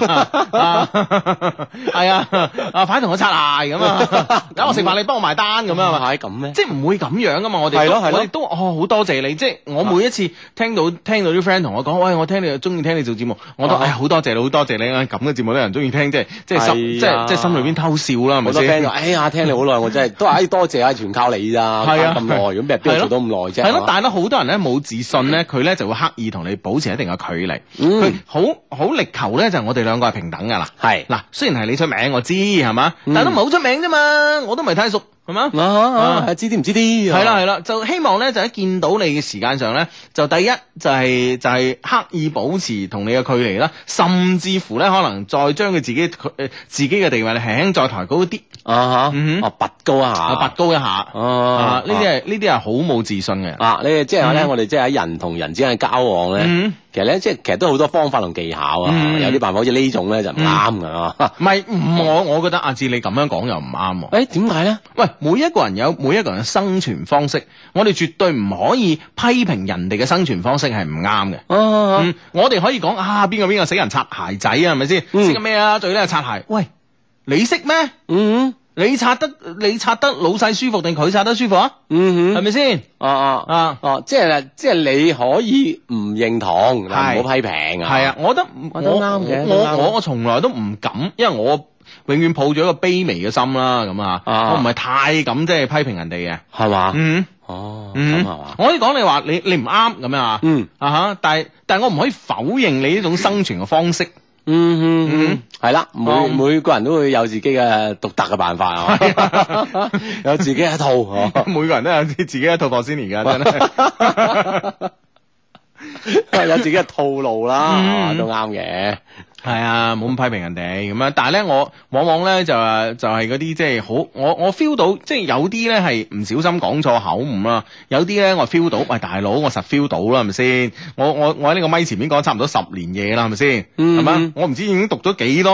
係啊，啊快同我擦鞋咁啊，等我食飯你幫我埋單咁啊， 係咁咩？ 即係唔會咁樣噶嘛，我哋係咯係咯，我哋都哦好多謝你，即係我每一次聽到聽到啲 friend 同我講，喂我聽你中意聽你做節目，我都誒好多謝你。多謝你啊！咁嘅節目都有人中意聽，即係即係心即係即係心裏邊偷笑啦，係咪先？好多 friend 話：哎呀，聽你好耐，我真係都話：哎，多謝啊，全靠你咋？係啊，咁耐，咁邊邊做到咁耐啫？係咯，但係咧，好多人咧冇自信咧，佢咧就會刻意同你保持一定嘅距離。佢好好力求咧，就係我哋兩個係平等噶啦。係嗱，雖然係你出名，我知係嘛，但係都唔係好出名啫嘛，我都唔係太熟。係嘛？啊啊！知啲唔知啲？係啦係啦，就希望咧，就喺見到你嘅時間上咧，就第一就係、是、就係、是、刻意保持同你嘅距離啦，甚至乎咧可能再將佢自己佢誒自己嘅地位咧輕輕再抬高啲啊嚇，嗯哼，啊拔高一下，拔高一下啊！呢啲係呢啲係好冇自信嘅人啊！你即係咧，我哋即係喺人同人之間嘅交往咧。嗯其實咧，即係其實都好多方法同技巧啊，嗯、有啲辦法好似呢種咧就唔啱噶。唔係、嗯，我我覺得阿志你咁樣講又唔啱。誒，點解咧？喂，每一個人有每一個人嘅生存方式，我哋絕對唔可以批評人哋嘅生存方式係唔啱嘅。啊嗯、我哋可以講啊，邊個邊個死人擦鞋仔啊，係咪先？識緊咩啊？最叻係擦鞋。喂，你識咩？嗯。你擦得你擦得老細舒服定佢擦得舒服啊？嗯哼，係咪先？哦哦啊哦，即係即係你可以唔認同，但唔好批評啊。係啊，我覺得我都啱嘅。我我我從來都唔敢，因為我永遠抱住一個卑微嘅心啦。咁啊，我唔係太敢即係批評人哋嘅，係嘛？嗯，哦，咁係嘛？我可以講你話你你唔啱咁樣啊。嗯啊哈，但係但係我唔可以否認你呢種生存嘅方式。嗯嗯嗯，係啦，每、嗯、每個人都會有自己嘅獨特嘅辦法啊，有自己一套，每個人都有自己一套貨先而家真係，有自己嘅套路啦，嗯、都啱嘅。係啊，冇咁批評人哋咁樣，但係咧我往往咧就係就係嗰啲即係好，我我 feel 到即係有啲咧係唔小心講錯口誤啦，有啲咧我 feel 到，喂大佬我實 feel 到啦，係咪先？我我我喺呢個咪前面講差唔多十年嘢啦，係咪先？係嘛、嗯？我唔知已經讀咗幾多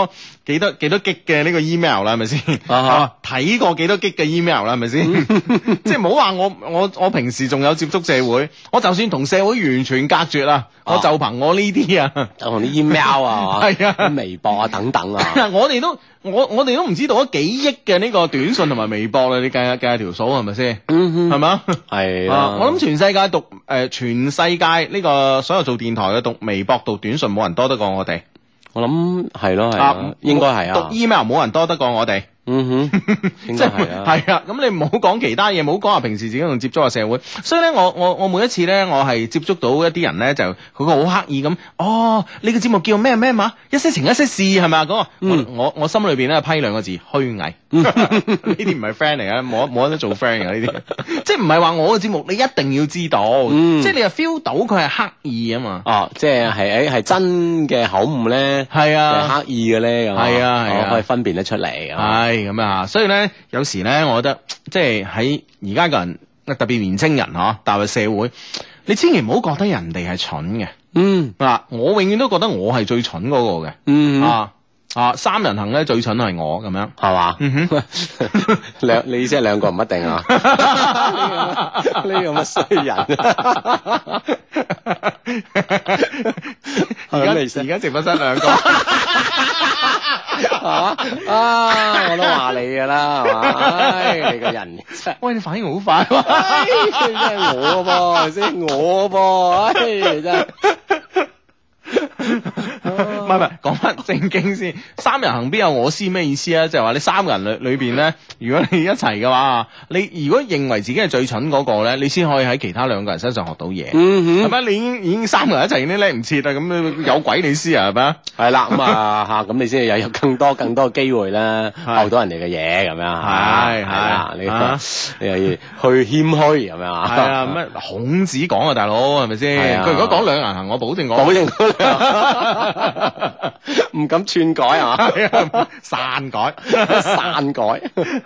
幾多幾多 G 嘅呢個 email 啦，係咪先？啊，睇過幾多 G 嘅 email 啦，係咪先？即係唔好話我我我平時仲有接觸社會，我就算同社會完全隔絕啦，我就憑我呢啲啊， 就同啲 email 啊， 係啊， 微博啊等等啊， 我哋都我我哋都唔知道咗幾億嘅呢個短信同埋微博啦，你計下計下條數係咪先？ 嗯哼， 係嘛？ 係啊，我諗全世界讀誒全世界呢個所有做電台嘅讀微博讀短信冇人多得過我哋。 我諗係咯係啊，應該係啊。 讀 email 冇人多得過我哋。 嗯哼，應該係啊。 係啊，咁你唔好講其他嘢，唔好講話平時自己同接觸個社會。所以咧，我我我每一次咧，我係接觸到一啲人咧，就佢個好刻意咁。哦，呢個節目叫咩咩嘛？一些情一些事係咪啊？嗰個我我我心裏邊咧批兩個字虛偽。呢啲唔係 friend 嚟嘅，冇冇得做 friend 嘅呢啲。即係唔係話我嘅節目你一定要知道，即係你又 feel 到佢係刻意啊嘛。 哦，即係係誒係真嘅口誤咧，係啊，刻意嘅咧咁。係啊係啊，可以分辨得出嚟。係。 咁啊，所以咧，有時咧，我覺得即係喺而家個人，特別年青人嗬，踏入社會，你千祈唔好覺得人哋係蠢嘅。嗯，嗱，我永遠都覺得我係最蠢嗰個嘅。嗯啊啊，三人行咧最蠢係我咁樣，係嘛？嗯哼， 兩你意思係兩個唔一定啊？呢個咁嘅衰人。 而家而家直播室兩個。 係嘛啊！我都話你㗎啦，係嘛？唉，你個人喂，你反應好快喎！ 唉，真係我噃，先我噃，唉，真係。 唔係唔係，講翻正經先。三人行必有我師咩意思啊？就係話你三個人裏裏邊咧，如果你一齊嘅話，你如果認為自己係最蠢嗰個咧，你先可以喺其他兩個人身上學到嘢。嗯哼，係咪？你已經已經三個人一齊已經叻唔切啦，咁有鬼你師啊？係咪啊？ 係啦，咁啊嚇，咁你先有有更多更多嘅機會啦，學到人哋嘅嘢咁樣。係係啦，你你又要去謙虛咁樣啊？ 係啊，咩孔子講啊，大佬係咪先？佢如果講兩人行，我保證我保證。唔敢篡改啊嘛， 篡改篡改。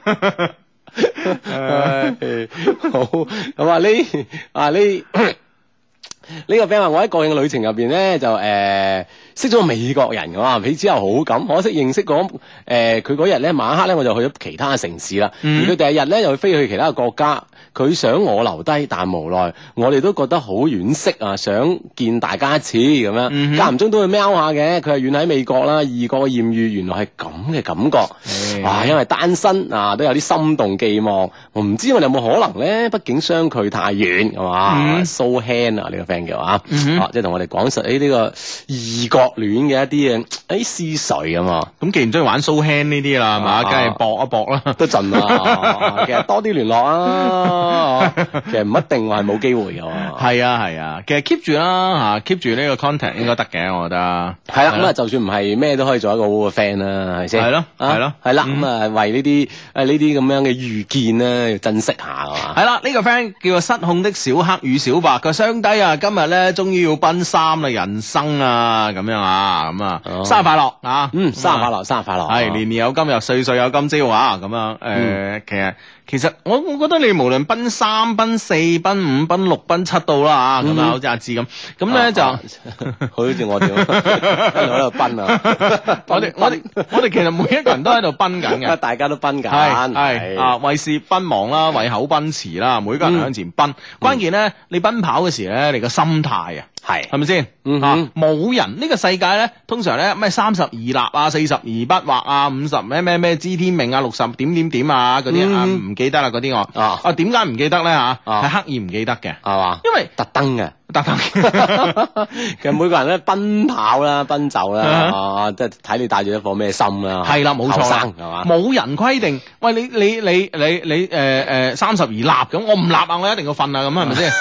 好咁啊！呢啊呢呢個 friend 話我喺國慶嘅旅程入邊咧就誒、呃、識咗個美國人嘅嘛，彼此有好感，可惜認識嗰誒佢嗰日咧晚黑咧我就去咗其他城市啦，嗯、而佢第二日咧又飛去其他嘅國家。佢想我留低，但無奈我哋都覺得好惋惜啊！想見大家一次咁樣，間唔中都會喵下嘅。佢係遠喺美國啦，異國嘅豔遇原來係咁嘅感覺。嗯、哇！因為單身啊，都有啲心動寄望。我唔知我哋有冇可能咧？畢竟相距太遠，係嘛？So hand 啊，呢個 friend 嘅話，即係同我哋講述誒呢個異國戀嘅一啲嘅誒思緒啊嘛。咁既然中意玩 so hand 呢啲啦，係嘛？梗係搏一搏啦， 都盡啦。其實多啲聯絡啊。其實唔一定話係冇機會嘅， 係啊係啊，其實 keep 住啦吓 keep 住呢個 contact 應該得嘅，我覺得係啦。咁啊，就算唔係咩都可以做一個好嘅 friend 啦，係咪先？係咯係咯係啦。咁啊，為呢啲誒呢啲咁樣嘅遇見咧，要珍惜下啊嘛。 係啦，呢個 friend 叫做失控的小黑與小白，佢雙低啊，今日咧終於要奔三啦，人生啊咁樣啊，咁啊，生日快樂啊， 嗯，生日快樂，生日快樂， 係年年有今日，歲歲有今朝啊，咁樣誒，其實。其實我我覺得你無論奔三、奔四、奔五、奔六、奔七到啦嚇，咁啊好似阿志咁，咁咧就好似我哋喺度奔啊！ 我哋我哋我哋其實每一個人都喺度奔緊嘅， 大家都奔緊， 係係啊，為事奔忙啦，為口奔馳啦，每個人向前奔。關鍵咧，你奔跑嘅時咧，你個心態啊，係係咪先啊？冇人呢個世界咧，通常咧咩三十而立啊，四十而不惑啊，五十咩咩咩知天命啊，六十點點點啊嗰啲啊唔記得啦嗰啲我啊啊點解唔記得咧吓？係刻意唔記得嘅係嘛？因為特登嘅特登。 其實每個人咧奔跑啦、奔走啦啊，即係睇你帶住一顆咩心啦。 係啦，冇錯啦，係嘛？冇人規定，喂你你你你你誒誒三十而立咁，我唔立啊，我一定要瞓啊，咁係咪先？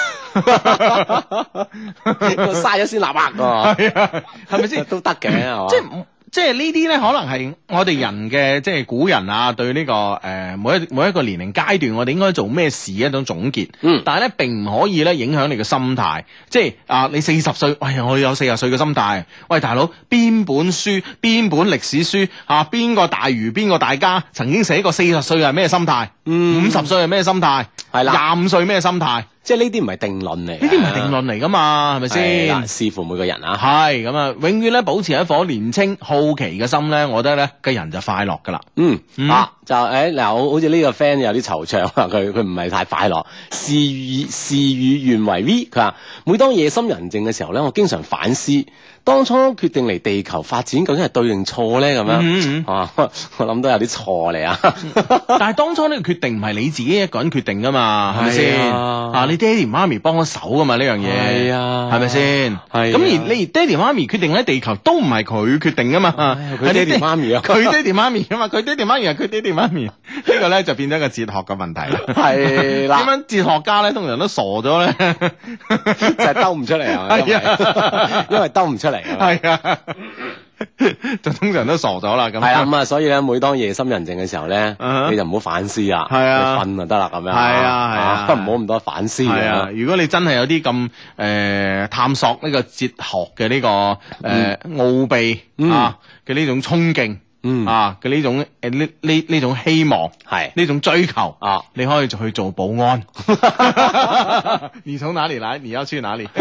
我嘥咗先立啊， 係啊，係咪先？ 都得嘅，係嘛？ 即係。即係呢啲咧，可能係我哋人嘅，即係古人啊，對呢、這個誒、呃、每一每一個年齡階段，我哋應該做咩事一種總結。嗯，但係咧並唔可以咧影響你嘅心態。即係啊、呃，你四十歲，喂，我有四十歲嘅心態。喂，大佬，邊本書、邊本歷史書啊？邊個大儒、邊個大家曾經寫過四十歲係咩心態？嗯，五十歲係咩心態？係啦，廿五歲咩心態？ 即係呢啲唔係定論嚟，呢啲唔係定論嚟噶嘛，係咪先？ 視乎每個人啊。 係咁啊，永遠咧保持一顆年青好奇嘅心咧，我覺得咧個人就快樂噶啦。 嗯， 嗯啊就誒嗱，好好似呢個 friend 有啲惆悵啊，佢佢唔係太快樂。事與事與願違 V，佢話每當夜深人靜嘅時候咧，我經常反思。當初決定嚟地球發展究竟係對定錯咧？咁樣， 嗯嗯啊，我諗都有啲錯嚟啊！ 但係當初呢個決定唔係你自己一個人決定噶嘛，係咪先？啊，你爹哋媽咪幫咗手噶嘛呢樣嘢， 係啊， 係咪先？係。咁而你爹哋媽咪決定喺地球都唔係佢決定噶嘛， 佢爹哋媽咪啊， 佢爹哋媽咪啊嘛，佢爹哋媽咪係佢爹哋媽咪，呢個咧就變咗一個哲學嘅問題啦。 係啦， 點樣哲學家咧通常都傻咗咧， 就係兜唔出嚟啊，因為因為兜唔出嚟。 係啊，就通常都傻咗啦。咁係啊，咁啊，所以咧，每當夜深人靜嘅時候咧，uh-huh. 你就唔好反思啦， 係啊， 你瞓就得啦，咁樣。 係啊，係啊， 不唔好咁多反思。 係啊，如果你真係有啲咁誒探索呢個哲學嘅呢、這個誒奧、呃嗯、秘、嗯、啊嘅呢種衝勁。嗯啊嘅呢種誒呢呢呢種希望係呢種追求啊，你可以就去做保安。你從哪裡來？你要去哪裡？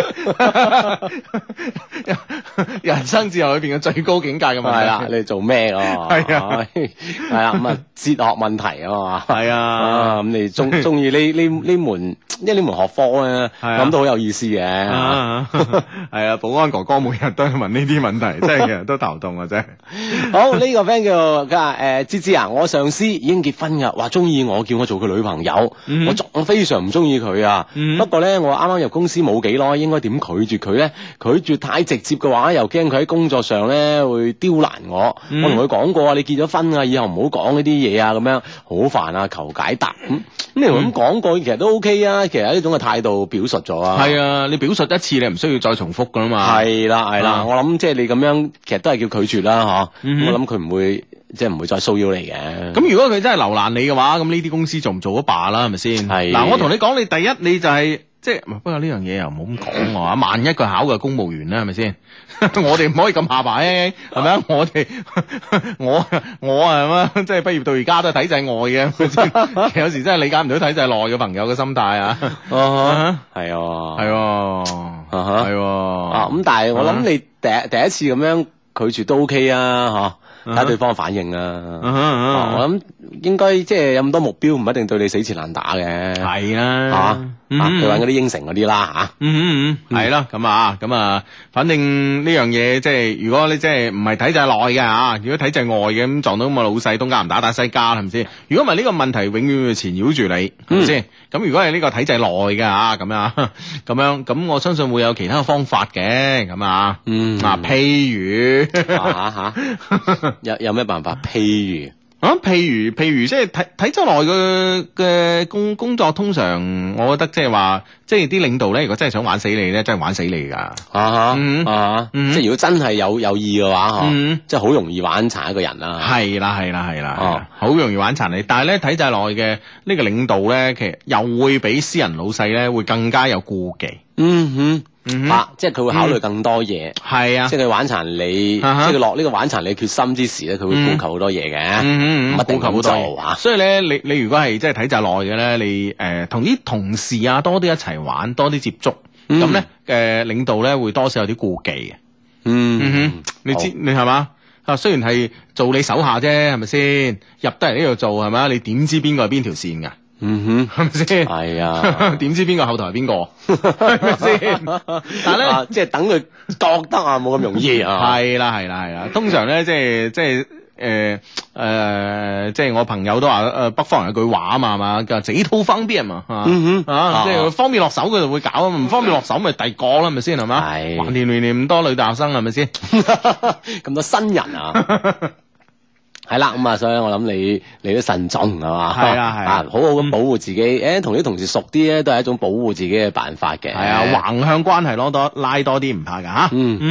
人生哲學裏邊嘅最高境界嘅問題係啦， 你做咩咯？係啊，係啊，咁啊哲學問題啊嘛，係啊，咁你中中意呢呢呢門，因為呢門學科咧，咁都好有意思嘅。係啊，保安哥哥每日都問呢啲問題，真係其實都頭痛啊！真係。好呢個。friend 叫佢話誒芝芝啊，我上司已經結婚噶，話中意我，叫我做佢女朋友，嗯、我仲非常唔中意佢啊。嗯、不過咧，我啱啱入公司冇幾耐，應該點拒絕佢咧？拒絕太直接嘅話，又驚佢喺工作上咧會刁難我。嗯、我同佢講過啊，你結咗婚啊，以後唔好講呢啲嘢啊，咁樣好煩啊，求解答。咁咁你同咁講過，其實都 OK 啊。其實呢種嘅態度表述咗啊。係啊，你表述一次，你唔需要再重複噶啦嘛。係啦係啦，我諗即係你咁樣，其實都係叫拒絕啦，嗬、嗯。我諗佢唔會。即係唔會再騷擾你嘅。咁如果佢真係留難你嘅話，咁呢啲公司做唔做都罷啦，係咪先？係。嗱，我同你講，你第一你就係、是、即係，不過呢樣嘢又唔好咁講喎。萬一佢考嘅公務員咧，係咪先？我哋唔可以咁下擺，係咪啊？我哋我我係嘛，即係畢業到而家都係體制外嘅。其實有時真係理解唔到體制內嘅朋友嘅心態啊。啊，係啊，係啊，係啊。咁但係我諗你第一第一次咁樣拒絕都 OK 啊，嚇。睇下對方嘅反應啊！Uh-huh, uh-huh. 哦、我諗應該即係有咁多目標，唔一定對你死纏爛打嘅。係啦，嚇，佢揾嗰啲應承嗰啲啦嚇。嗯嗯嗯，係啦，咁啊，咁啊，反正呢樣嘢即係如果你即係唔係體制內嘅嚇，如果體制外嘅咁撞到咁嘅老細，東家唔打打西家係咪先？如果唔係呢個問題永遠會纏繞住你，係咪先？咁如果係呢個體制內嘅嚇，咁樣咁樣咁，我相信會有其他嘅方法嘅，咁啊，嗯，嗱，譬如嚇嚇。有有咩辦法？譬如啊，譬如譬如即係體體制內嘅嘅工工作，通常我覺得即係話，即係啲領導咧，如果真係想玩死你咧，真係玩死你噶。啊哈，嗯、啊，嗯、即係如果真係有有意嘅話，嗬、嗯，即係好容易玩殘一個人啦。係啦，係啦，係啦，好容易玩殘你。但係咧，體制內嘅呢個領導咧，其實又會比私人老細咧會更加有顧忌。嗯哼。嗯、啊！即係佢會考慮更多嘢，係、嗯、啊！即係佢玩殘你，啊、即係佢落呢個玩殘你決心之時咧，佢會顧及好多嘢嘅，唔一定咁做啊！所以咧，你你如果係即係體制內嘅咧，你誒同啲同事啊多啲一齊玩，多啲接觸，咁咧誒領導咧會多少有啲顧忌嘅。嗯，嗯哼，你知你係嘛？啊，雖然係做你手下啫，係咪先？入得嚟呢度做係咪？你點知邊個係邊條線㗎？嗯哼，係咪先？係啊，點知邊個後台係邊個？係咪先？但係咧、啊，即係等佢覺得啊，冇咁容易啊。係啦，係啦，係啦。通常咧，即係即係誒誒，即係我朋友都話誒、呃，北方人有句話啊嘛，係嘛，叫自己掏方便嘛。嗯哼，啊，即係方便落手佢就會搞，唔方便落手咪第二個啦，係咪先？係嘛？係。橫掂年年咁多女大學生係咪先？咁多新人啊！係啦，咁啊，所以我諗你你都慎重係嘛，係啊係啊，好好咁保護自己，誒、嗯，同啲同事熟啲咧，都係一種保護自己嘅辦法嘅。係啊，橫向關係攞多拉多啲唔怕噶吓。嗯嗯。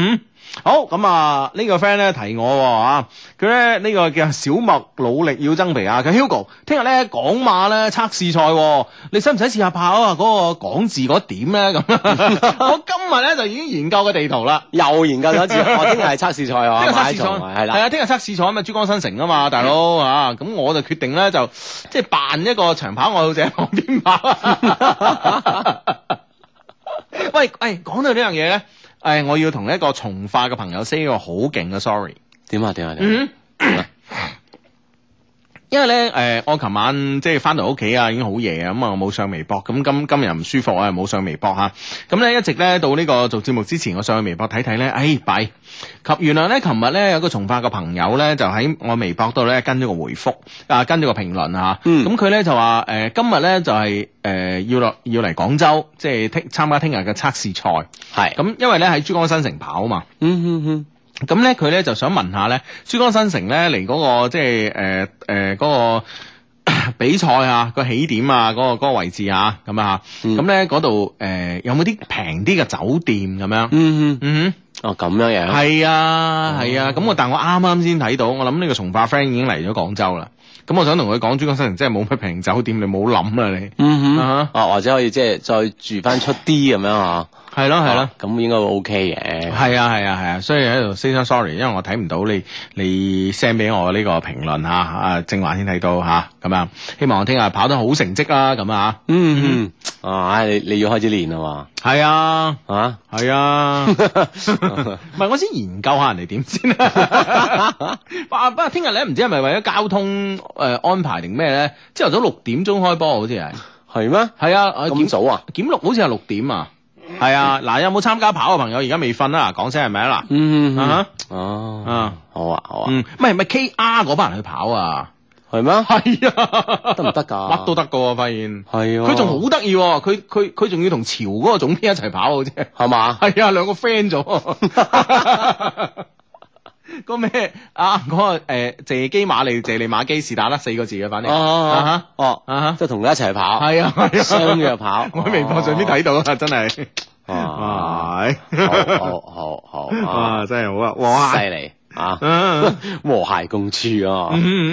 好咁啊，呢、這個 friend 咧提我啊，佢咧呢、這個叫小麥努力要增肥啊，佢 Hugo 聽日咧港馬咧測試賽，你使唔使試下跑啊？嗰、那個港字嗰點咧咁，我今日咧就已經研究個地圖啦， 又研究咗一次，我聽日係測試賽啊， 聽日測試賽係啦， 係啊，聽日測試賽咁啊，珠江新城啊嘛，大佬啊，咁我就決定咧就即係扮一個長跑愛好者喺旁邊跑。喂，誒，講到呢樣嘢咧，誒，我要同一個從化嘅朋友 say 一個好勁嘅 sorry。 點啊？點啊？點啊？ 因為咧，誒、呃，我琴晚即係翻到屋企啊，已經好夜啊，咁啊，我冇上微博，咁今今日唔舒服啊，冇上微博吓，咁咧一直咧到呢個做節目之前，我上去微博睇睇咧，哎，弊，及原來咧，琴日咧有個從化嘅朋友咧，就喺我微博度咧跟咗個回覆，啊，跟咗個評論啊，咁佢咧就話，誒、呃，今日咧就係、是，誒、呃，要落要嚟廣州，即係聽參加聽日嘅測試賽，係，咁因為咧喺珠江新城跑啊嘛，嗯嗯嗯。咁咧佢咧就想問下咧，珠江新城咧嚟嗰個即係誒誒嗰個比賽啊個起點啊嗰、嗰個嗰個位置啊咁啊，咁咧嗰度誒有冇啲平啲嘅酒店咁樣？嗯嗯嗯哼，哦咁樣樣，係啊係啊，咁我、啊、但我啱啱先睇到，我諗呢個從化 friend 已經嚟咗廣州啦。咁我想同佢講，珠江新城真係冇乜平酒店，你冇諗啦你。嗯哼，啊、 哦或者可以即係再住翻出啲咁樣啊。係咯係咯，咁應該會 OK 嘅。係啊係啊係啊，所以喺度 say sorry，因為我睇唔到你你 send 俾我呢個評論嚇，啊正話先睇到嚇，咁樣希望我聽日跑得好成績啦，咁啊。嗯嗯，啊你你要開始練啦嘛。係啊，啊係啊，唔係我先研究下人哋點先啊。不過聽日咧唔知係咪為咗交通誒、呃、安排定咩咧？朝頭早六點鐘開波好似係。係咩？係啊，咁早啊？檢錄好似係六點啊。係啊，嗱，有冇參加跑嘅朋友而家未瞓啊？講聲係咪啊？嗱，嗯啊，哦，啊，好啊，好啊，嗯，唔係唔係 K R 嗰班人去跑啊？係咩？係啊，得唔得噶？乜都得噶喎，發現係啊，佢仲好得意，佢佢佢仲要同潮嗰個總編一齊跑嘅啫，係嘛？係啊，兩個 friend 咗。嗰咩啊？嗰、那個誒、呃、謝基馬利謝利馬基是打得四個字嘅，反正哦哦啊即係同佢一齊跑，係啊，相約跑。我喺微博上邊睇到啊，真係哇，好好好好啊，真係好啊，哇，犀利啊，和諧共處啊。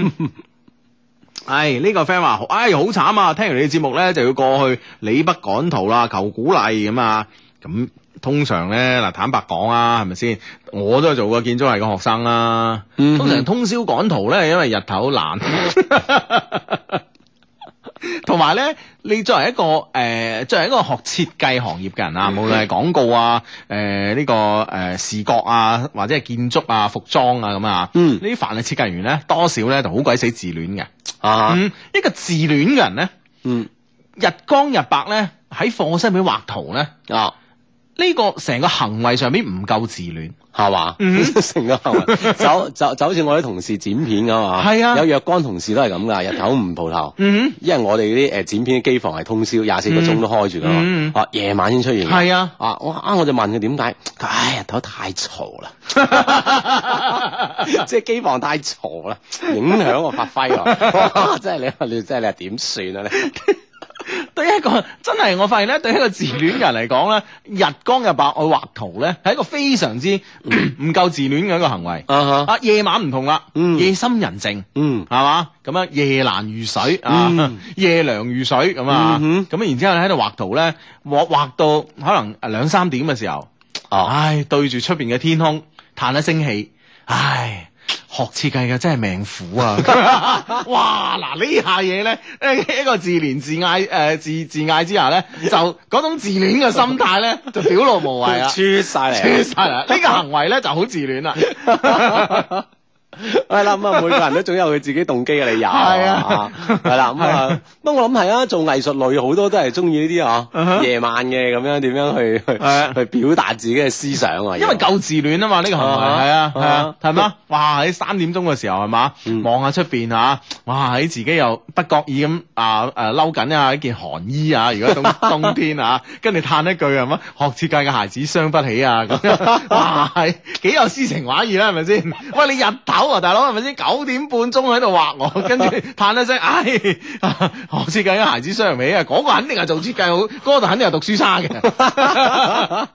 唉，呢個 friend 話，唉，好慘啊！聽完你嘅節目咧，就要過去李北趕圖啦，求鼓勵咁啊，咁。通常咧嗱，坦白講啊，係咪先？我都係做過建築系嘅學生啦。嗯、哼通常通宵趕圖咧，因為日頭難。同埋咧，你作為一個誒、呃，作為一個學設計行業嘅人啊，無論係廣告啊、誒、呃、呢、這個誒、呃、視覺啊，或者係建築啊、服裝啊咁啊，嗯，呢啲凡係設計員咧，多少咧就好鬼死自戀嘅。啊，嗯，一個自戀嘅人咧，嗯，日光日白咧喺課室入邊畫圖咧，啊。呢個成個行為上邊唔夠自戀，係嘛？成個行為就就就好似我啲同事剪片咁嘛，係啊，有若干同事都係咁噶，日頭唔蒲頭，嗯，因為我哋啲誒剪片嘅機房係通宵廿四個鐘都開住噶嘛，啊夜晚先出現，係啊，啊我啊我就問佢點解，唉日頭太嘈啦，即係機房太嘈啦，影響我發揮啊，真係你你真係你係點算啊你？對一個真係，我發現咧，對一個自戀人嚟講咧，日光日白去畫圖咧，係一個非常之唔夠自戀嘅一個行為。Uh huh. 啊，夜晚唔同啦，嗯、夜深人靜，嗯，係嘛，咁樣夜難如水啊，嗯、夜涼如水咁啊，咁、嗯、哼然之後喺度畫圖咧，畫畫到可能兩三點嘅時候，哦、唉，對住出邊嘅天空，嘆一聲氣，唉。學設計嘅真係命苦啊！哇，嗱呢下嘢咧，一個自憐自艾誒、呃、自自艾之下咧，就嗰種自戀嘅心態咧，就表露無遺啊！出晒嚟，出晒嚟！呢個行為咧就好自戀啦。係啦，咁啊，每個人都總有佢自己動機嘅理由。係啊，係啦，咁啊，不過我諗係啊，做藝術類好多都係中意呢啲啊，夜晚嘅咁樣點樣去去去表達自己嘅思想啊。因為夠自戀啊嘛，呢個行為係啊係啊，係嘛？哇！喺三點鐘嘅時候係嘛，望下出邊啊，哇！喺自己又不覺意咁啊誒嬲緊啊一件寒衣啊，如果冬冬天啊，跟住嘆一句係嘛，學設計嘅孩子傷不起啊咁樣，哇！係幾有詩情畫意啦，係咪先？喂，你日頭大佬係咪先？九點半鐘喺度畫我，跟住嘆一聲，唉，學設計嘅孩子傷唔起啊！嗰、那個肯定係做設計好，嗰、那個就肯定係讀書差嘅。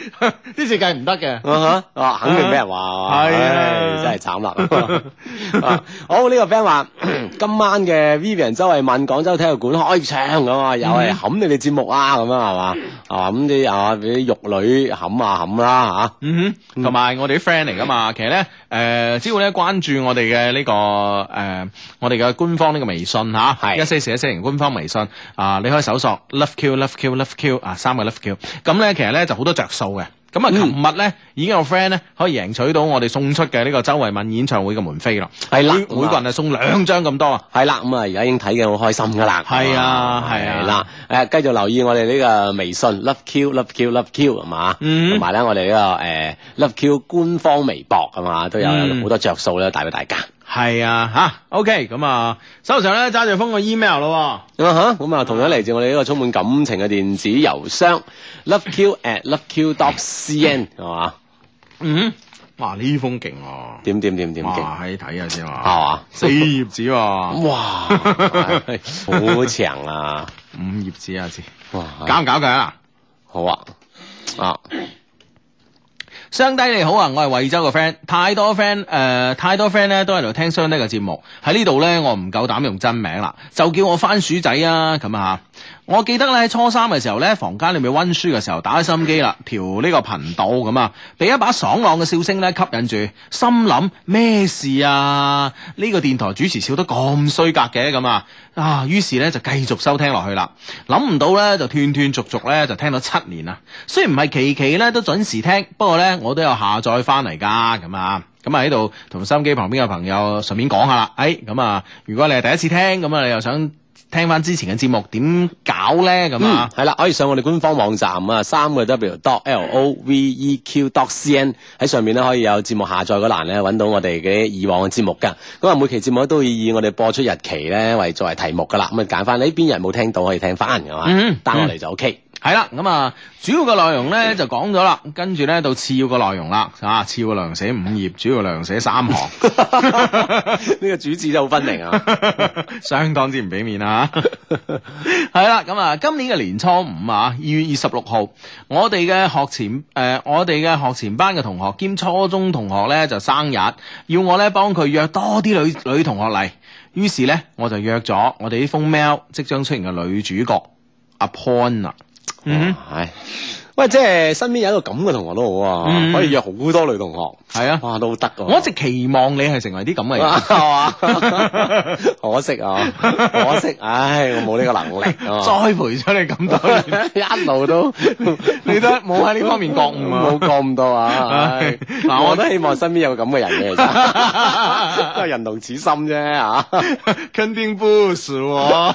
啲設計唔得嘅， 啊哈，肯定俾人話， 係啊， 真係慘啦。好，呢個 friend 話今晚嘅 Vivian 周慧敏廣州體育館開唱咁啊，又係冚你哋節目啊，咁樣係嘛？啊咁啲啊俾啲玉女冚啊冚啦嚇。 嗯哼，同埋我哋啲 friend 嚟噶嘛，其實咧誒，只要咧關注我哋嘅呢個誒，我哋嘅官方呢個微信嚇，係一些事一些情官方微信啊，你可以搜索 Love Q Love Q Love Q 啊，三個 Love Q，咁咧其實咧就好多着數嘅。咁啊，琴日咧已經有 friend 咧可以贏取到我哋送出嘅呢個周慧敏演唱會嘅門飛啦。係啦，每個人係送兩張咁多啊。係啦，咁啊而家已經睇嘅好開心噶啦。係啊，係啊。啦，誒繼續留意我哋呢個微信 Love Q Love Q Love Q 係嘛，同埋咧我哋呢個誒 Love Q 官方微博係嘛，都有好多着數咧帶俾大家。係啊，吓 OK， 咁啊手上咧揸住封個 email 咯。啊哈，咁啊同樣嚟自我哋呢個充滿感情嘅電子郵箱 loveq at loveq dot cn 係嘛。嗯，哇呢封勁啊，點點點點勁，哇喺睇下先啊，係嘛，四頁紙喎，哇好長啊，五頁紙啊先，哇搞唔搞佢啊？好啊，啊。雙低你好啊，我係惠州嘅 friend，太多 friend 誒、呃，太多 friend 咧都喺度聽雙低嘅節目，喺呢度咧我唔夠膽用真名啦，就叫我番薯仔啊咁啊。我記得咧喺初三嘅時候咧，房間裏面溫書嘅時候打開收音機啦，調呢個頻道咁啊，俾一把爽朗嘅笑聲咧吸引住，心諗咩事啊？呢、這個電台主持笑得咁衰格嘅咁啊，啊，於是咧就繼續收聽落去啦。諗唔到咧就斷斷續續咧就聽到七年啦。雖然唔係期期咧都準時聽，不過咧我都有下載翻嚟噶咁啊。咁啊喺度同收音機旁邊嘅朋友順便講下啦。誒咁啊，如果你係第一次聽，咁啊你又想聽翻之前嘅節目點搞咧咁啊？係啦、嗯，可以上我哋官方網站啊，三個 W dot L O V E Q dot C N 喺上面咧可以有節目下載嗰欄咧揾到我哋嘅以往嘅節目噶。咁啊每期節目都以我哋播出日期咧為作為題目噶啦。咁啊揀翻呢邊人冇聽到可以聽翻係嘛，down落嚟就 OK。係啦，咁啊，主要嘅內容咧就講咗啦，跟住咧到次要嘅內容啦，啊，次要嘅內容寫五頁，主要嘅內容寫三行，呢個主旨真係好分明啊，相當之唔俾面啊，係啦，咁啊，今年嘅年初五啊，二月二十六號，我哋嘅學前誒、呃，我哋嘅學前班嘅同學兼初中同學咧就生日，要我咧幫佢約多啲女女同學嚟，於是咧我就約咗我哋呢封 mail 即將出現嘅女主角阿 Pon 啊。嗯，係，喂，即係身邊有一個咁嘅同學都好啊，嗯、可以約好多女同學，係啊，哇，都得啊！我一直期望你係成為啲咁嘅人，係嘛？可惜啊，可惜，唉，我冇呢個能力，啊，栽培咗你咁多年，一路都你都冇喺呢方面覺悟啊，冇覺悟到啊！嗱，我都希望身邊有個咁嘅人嘅，其實都係人同此心啫，啊，肯定不是我。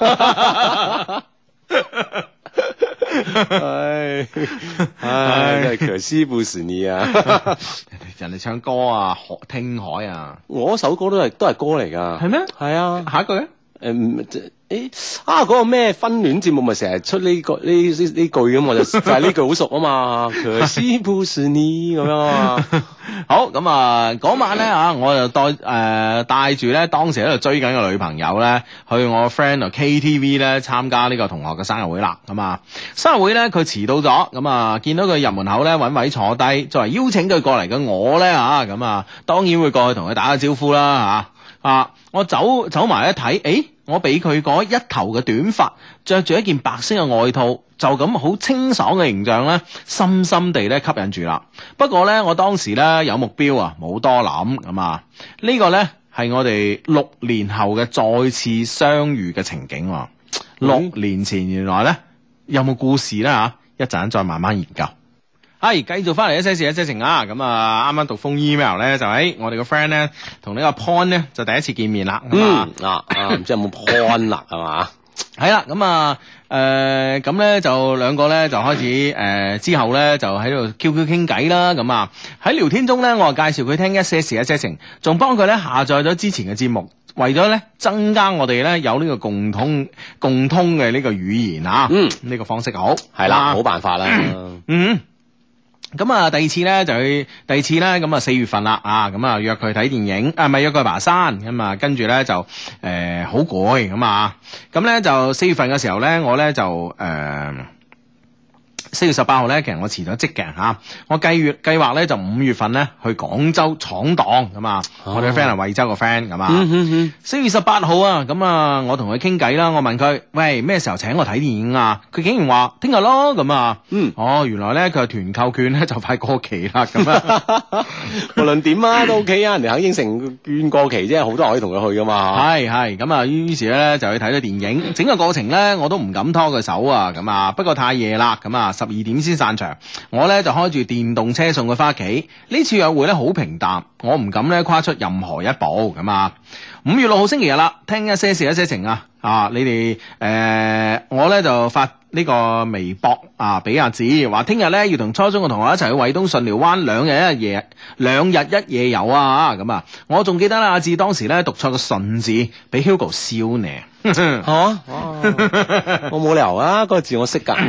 唉唉，真係可惜不是你啊！人哋唱歌啊，學聽海啊，我首歌都係都係歌嚟噶，係咩？係啊，下一句咧，誒，誒啊，嗰個咩婚戀節目咪成日出呢個呢呢呢句咁，我就就係呢句好熟啊嘛，可惜不是你咁樣啊。好咁啊，嗰晚咧啊，我就帶誒帶住咧當時喺度追緊嘅女朋友咧，去我 friend 度 K T V 咧參加呢個同學嘅生日會啦。咁啊，生日會咧佢遲到咗，咁啊見到佢入門口咧揾位坐低，作為邀請佢過嚟嘅我咧啊，咁啊當然會過去同佢打個招呼啦嚇啊！我走走埋一睇，誒我俾佢嗰一頭嘅短髮，着住一件白色嘅外套，就咁好清爽嘅形象咧，深深地咧吸引住啦。不過咧，我當時咧有目標啊，冇多諗咁啊。呢個咧係我哋六年後嘅再次相遇嘅情景。六年前原來咧有冇故事咧吓？一陣再慢慢研究。係繼續翻嚟一些事一些情啊！咁啊，啱啱讀封 email 咧，就喺我哋個 friend 咧同呢個 Pon 咧就第一次見面啦。嗯啊啊，唔知有冇 Pon 啦係嘛？係啦，咁啊誒咁咧就兩個咧就開始誒、呃、之後咧就喺度 Q Q 傾偈啦。咁啊喺聊天中咧，我就介紹佢聽一些事一些情，仲幫佢咧下載咗之前嘅節目，為咗咧增加我哋咧有呢個共通共通嘅呢個語言啊。嗯，呢個方式好係啦，好辦法啦。嗯。咁啊，第二次咧就去第二次咧，咁啊四月份啦，啊咁啊約佢睇電影，啊咪約佢去爬山，咁啊跟住咧就誒好攰咁啊，咁咧就四月份嘅時候咧，我咧就誒四月十八號咧，其實我辭咗職嘅嚇，我計月計劃咧就五月份咧去廣州闖蕩咁啊，我哋嘅 friend 係惠州個 friend 咁啊。四月十八號啊，咁啊，我同佢傾偈啦，我問佢喂咩時候請我睇電影啊？佢竟然話聽日咯咁啊。嗯，哦，原來咧佢係團購券咧就快過期啦咁啊。 無論點啊都 OK 啊，人哋肯應承券過期啫，好多人可以同佢去噶嘛。 係係咁啊，於是咧就去睇咗電影，整個過程咧我都唔敢拖佢手啊，咁啊，不過太夜啦，咁啊。十二點先散場，我咧就開住電動車送佢翻屋企。呢次約會咧好平淡，我唔敢咧跨出任何一步咁啊。五月六號星期日啦，聽一些事一些情啊，啊你哋誒、呃、我咧就發呢個微博啊俾阿子，話聽日咧要同初中嘅同學一齊去惠東順寮灣兩日一夜兩日一夜遊啊咁啊。我仲記得啦，阿子當時咧讀錯個順字，俾 Hugo 笑呢。 吓、啊，我冇理由啊！嗰、那個字我識噶，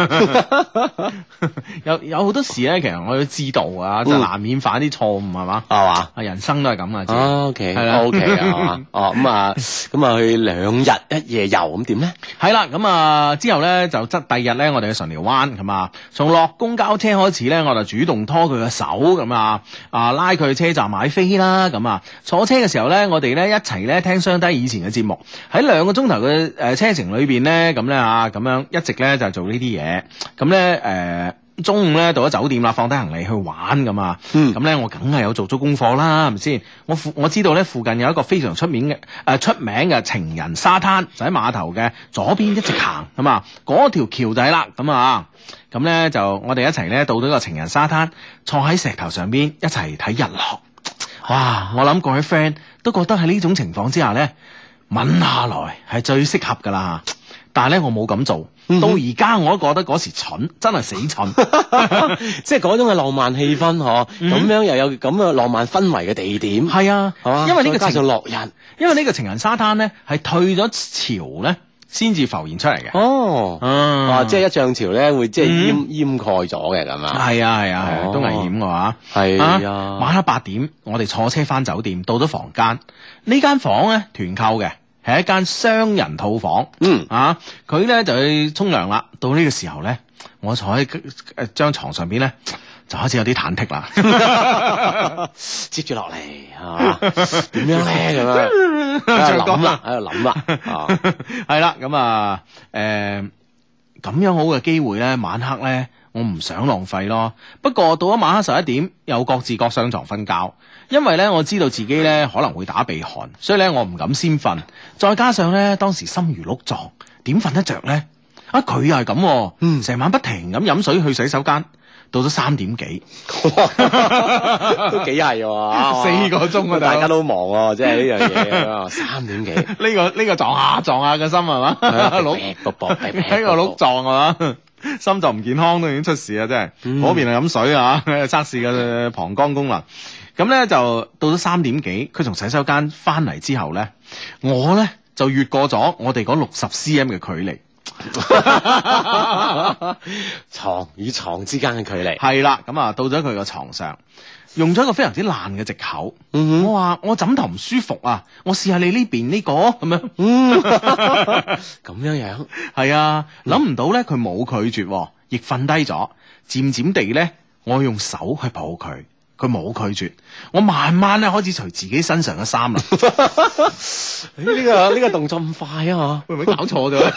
有有好多時咧，其實我都知道啊，就難免犯啲錯誤係嘛， 係嘛， 啊人生都係咁啊。 O K，係啦，O K 啊，嘛，哦咁啊，咁啊去兩日一夜遊咁點咧？係啦，咁啊之後咧就則第二日咧，我哋去順寮灣咁啊，從落公交車開始咧，我就主動拖佢嘅手咁啊，啊拉佢去車站買飛啦，咁啊坐車嘅時候咧，我哋咧一齊咧聽雙低以前嘅節目喺兩。兩個鐘頭嘅誒車程裏邊咧，咁咧啊，咁樣一直咧就做呢啲嘢，咁咧誒中午咧到咗酒店啦，放低行李去玩咁啊，咁咧、嗯、我梗係有做足功課啦，係咪先？我附我知道咧附近有一個非常出名嘅誒、呃、出名嘅情人沙灘，就喺碼頭嘅左邊一直行咁啊，嗰條橋就係啦，咁啊，咁咧就我哋一齊咧到咗個情人沙灘，坐喺石頭上邊一齊睇日落，哇！我諗各位 friend 都覺得喺呢種情況之下咧。吻下來係最適合噶啦，但係咧我冇咁做，嗯、哼到而家我都覺得嗰時蠢，真係死蠢， 即係嗰種嘅浪漫氣氛嗬，咁、嗯、樣又有咁嘅浪漫氛圍嘅地點，係啊，係嘛，因為呢個加上落日， 因為呢個情人沙灘咧係退咗潮咧先至浮現出嚟嘅，哦， 嗯、啊，即係一漲潮咧會即係淹淹蓋咗嘅咁啊， 係啊係啊係啊，都危險嘅話，係啊，啊晚黑八點我哋坐車翻酒店，到咗房間，呢間房咧團購嘅。係一間雙人套房，嗯啊，佢咧就去沖涼啦。到呢個時候咧，我坐喺誒張床上邊咧，就開始有啲忐忑啦。 接住落嚟，係嘛？點樣咧咁樣？喺度諗啦，喺度諗啦。 係啦，咁啊，誒，咁樣好嘅機會咧，晚黑咧，我唔想浪費咯。不過到咗晚黑十一點，又各自各上床瞓覺。因為咧，我知道自己咧可能會打鼻鼾，所以咧我唔敢先瞓。再加上咧，當時心如鹿撞，點瞓得着咧？啊，佢又係咁，嗯，成晚不停咁飲水去洗手間，到咗三點幾， 都幾係喎， 四個鐘啊， 大家都忙喎，即係呢樣嘢，三點幾， 呢個呢個撞下撞下嘅心係嘛，鹿喺個鹿撞係嘛。心臟唔健康都已經出事啊！真係，嗰、嗯、邊係飲水啊，測試嘅膀胱功能。咁咧就到咗三點幾，佢從洗手間翻嚟之後咧，我咧就越過咗我哋嗰六十 cm 嘅距離， 床與床之間嘅距離。 係啦，咁啊到咗佢個床上，用咗一個非常之爛嘅藉口。嗯、哼我話我枕頭唔舒服啊，我試下你呢邊呢個咁樣。嗯， 咁樣樣係啊，諗唔到咧，佢冇拒絕，亦瞓低咗。漸漸地咧，我用手去抱佢。佢冇拒絕，我慢慢咧開始除自己身上嘅衫啦。 呢、這個呢、這個動作咁快啊！ 會唔會搞錯咗？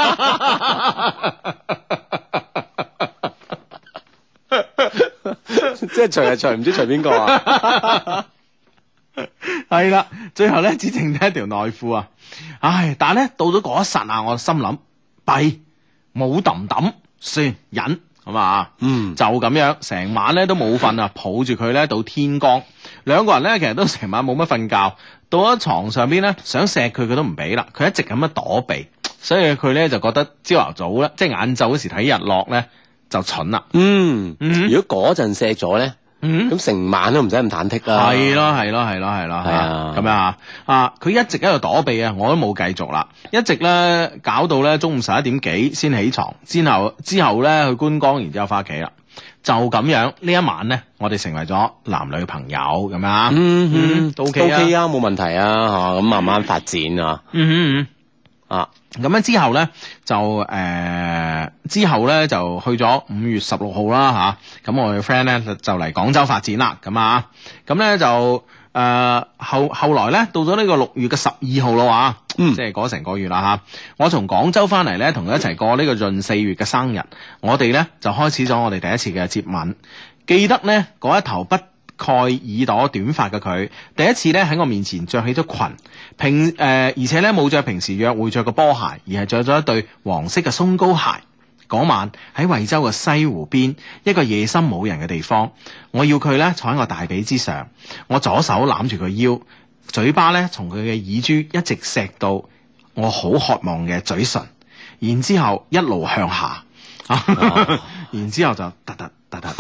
即係除係除唔知除邊個啊？ 係啦，最後咧只剩低一條內褲啊！唉，但係咧到咗嗰一剎那，我心諗弊冇揼揼，算忍。咁啊，嗯，就咁樣，成晚咧都冇瞓啊，抱住佢咧到天光，兩個人咧其實都成晚冇乜瞓覺，到咗床上邊咧想錫佢，佢都唔俾啦，佢一直咁樣躲避，所以佢咧就覺得朝頭早咧，即係晏晝嗰時睇日落咧就蠢啦。嗯，嗯如果嗰陣錫咗咧。嗯，咁成晚都唔使咁忐忑啦。 係咯，係咯，係咯，係咯，係啊，咁樣啊，啊，佢一直喺度躲避啊，我都冇繼續啦，一直咧搞到咧中午十一點幾先起床，之後之後咧去觀光，然之後翻屋企啦，就咁樣呢一晚咧，我哋成為咗男女朋友咁啊，嗯嗯，都 OK 啊， 都 OK 啊，冇問題啊，吓咁慢慢發展啊，嗯嗯嗯。 啊。 咁樣之後咧就誒、呃、之後咧就去咗五月十六號啦吓，咁我嘅 friend 咧就嚟廣州發展啦，咁啊，咁咧就誒、呃、後後來咧到咗呢個六月嘅十二號啦話，嗯，即係過成個月啦吓，我從廣州翻嚟咧同佢一齊過呢個閏四月嘅生日，我哋咧就開始咗我哋第一次嘅接吻，記得咧嗰一頭不蓋耳朵短髮嘅佢，第一次咧喺我面前着起咗裙，平誒、呃、而且咧冇着平時約會着嘅波鞋，而係着咗一對黃色嘅鬆糕鞋。嗰晚喺惠州嘅西湖邊一個夜深冇人嘅地方，我要佢咧坐喺我大髀之上，我左手攬住佢腰，嘴巴咧從佢嘅耳珠一直錫到我好渴望嘅嘴唇，然之後一路向下，啊、然之後就突突。得得，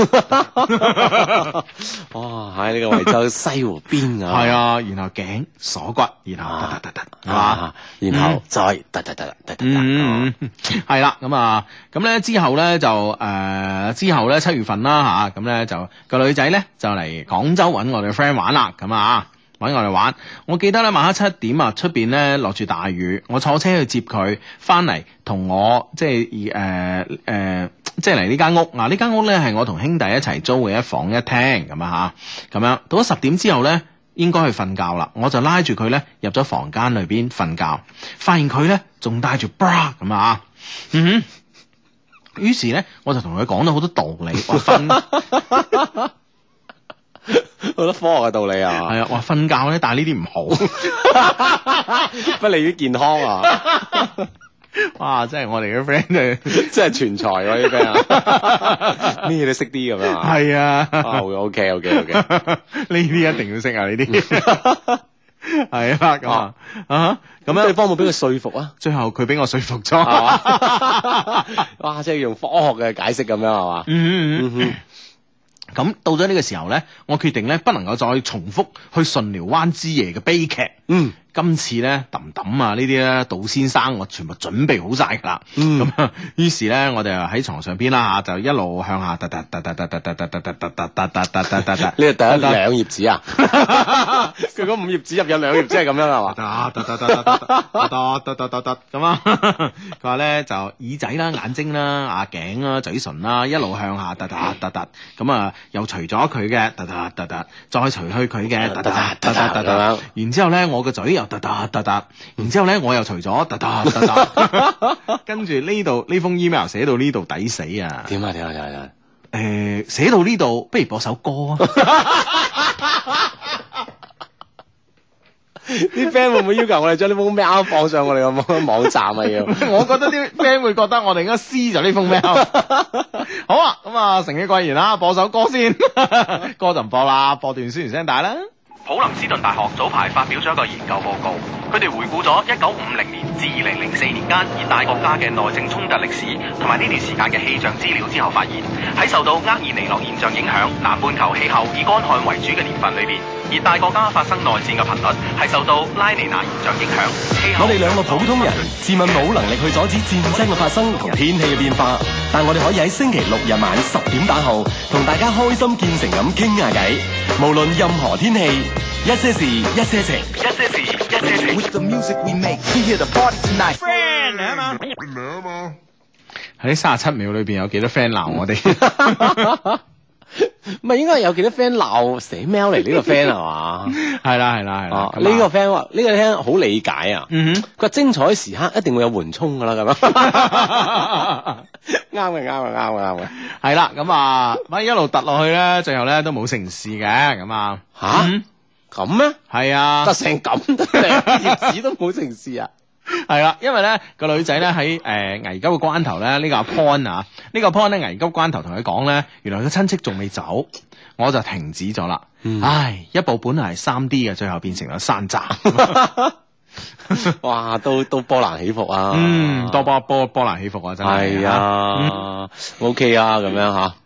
哇！喺呢個惠州西湖邊啊， 係啊，然後頸鎖骨，然後得得得得，啊， 然後再得得得得得， 嗯，係啦，咁啊，咁咧之後咧就誒之後咧七月份啦嚇，咁咧就個女仔咧就嚟廣州揾我哋 friend 玩啦，咁啊。揾我哋玩，我記得咧晚黑七點啊，出邊咧落住大雨，我坐車去接佢翻嚟，同我即係誒誒，即係嚟呢間屋啊！呢間屋咧係我同兄弟一齊租嘅一房一廳咁啊嚇，咁樣到咗十點之後咧，應該去瞓覺啦，我就拉住佢咧入咗房間裏邊瞓覺，發現佢咧仲帶住 bra 咁啊，嗯哼，於是咧我就同佢講咗好多道理，話瞓。 好多科學嘅道理啊， 係啊，話瞓覺咧，但係呢啲唔好， 不利於健康啊！ 哇，真係我哋嘅 friend 真係全才喎呢 friend 啊，咩都識啲咁樣啊！ 係啊 ，OK OK OK， 呢啲一定要識啊！呢啲係啊，咁啊啊咁樣，對方冇俾佢說服啊？ 最後佢俾我說服咗， 哇！即係用科學嘅解釋咁樣係嘛？嗯嗯嗯。 咁到咗呢個時候咧，我決定咧不能夠再重複去順寮灣之夜嘅悲劇。嗯，今次咧揼揼啊呢啲咧，杜先生我全部準備好晒噶啦。嗯，咁啊，於是咧我哋就喺床上邊啦嚇，就一路向下突突突突突突突突突突突突突突突突突突。呢個第一兩頁紙啊？佢嗰五頁紙入有兩頁紙係咁樣係嘛？ 突突突突突突突突突突咁啊！佢話咧就耳仔啦、眼睛啦、啊頸啦、嘴唇啦，一路向下突突突突咁啊！又除咗佢嘅，突突突突，再除去佢嘅，突突突突突突，然之後咧，我個嘴又突突突突，然之後咧，我又除咗，突突突突，跟住呢度呢封 email 寫到呢度抵死啊！ 點啊點啊點啊點啊！ 誒，寫到呢度，不如播首歌啊！ 啲 friend 會唔會要求我哋將呢封 mail 放上我哋個網站啊？要？ 我覺得啲 friend 會覺得我哋應該撕咗呢封 mail。好啊，咁啊，誠意貴言啦，播首歌先，歌就唔播啦，播段宣傳聲帶啦。 普林斯頓大學早排發表咗一個研究報告，佢哋回顧咗一九五零年至二零零四年間熱帶國家嘅內政衝突歷史，同埋呢段時間嘅氣象資料之後，發現喺受到厄爾尼諾現象影響，南半球氣候以乾旱為主嘅年份裏邊，熱帶國家發生內戰嘅頻率係受到拉尼娜現象影響。 我哋兩個普通人自問冇能力去阻止戰爭嘅發生同天氣嘅變化，但我哋可以喺星期六日晚十點打後同大家開心見誠咁傾下偈，無論任何天氣，一些事一些情， 一些事一些情。 With the music we make, we hear the party tonight. friend 嚟啊嘛，嚟啊嘛。喺三十七秒裏邊有幾多 friend 鬧我哋？ 唔係應該有幾多 friend 鬧寫 mail 嚟呢個 friend 係嘛？ 係啦係啦係啦， 呢個 friend 話呢個 friend 好理解啊。嗯哼，佢話精彩時刻一定會有緩衝噶啦咁樣。啱嘅啱嘅啱嘅啱嘅。 係啦，咁啊，咪一路突落去咧，最後咧都冇成事嘅咁啊。 吓？咁咩？ 係啊， 得成咁得兩頁紙都冇成事啊！ 係啦，因為咧個女仔咧喺誒危急嘅關頭咧，呢、這個阿 Pon 啊，呢、這個 Pon 咧危急關頭同佢講咧，原來佢親戚仲未走，我就停止咗啦。嗯、唉，一部本來係三 D 嘅，最後變成咗山寨。 哇，都都波瀾起伏啊！ 嗯，多波波波瀾起伏啊，真係。 係啊、嗯、，OK 啊，咁樣吓。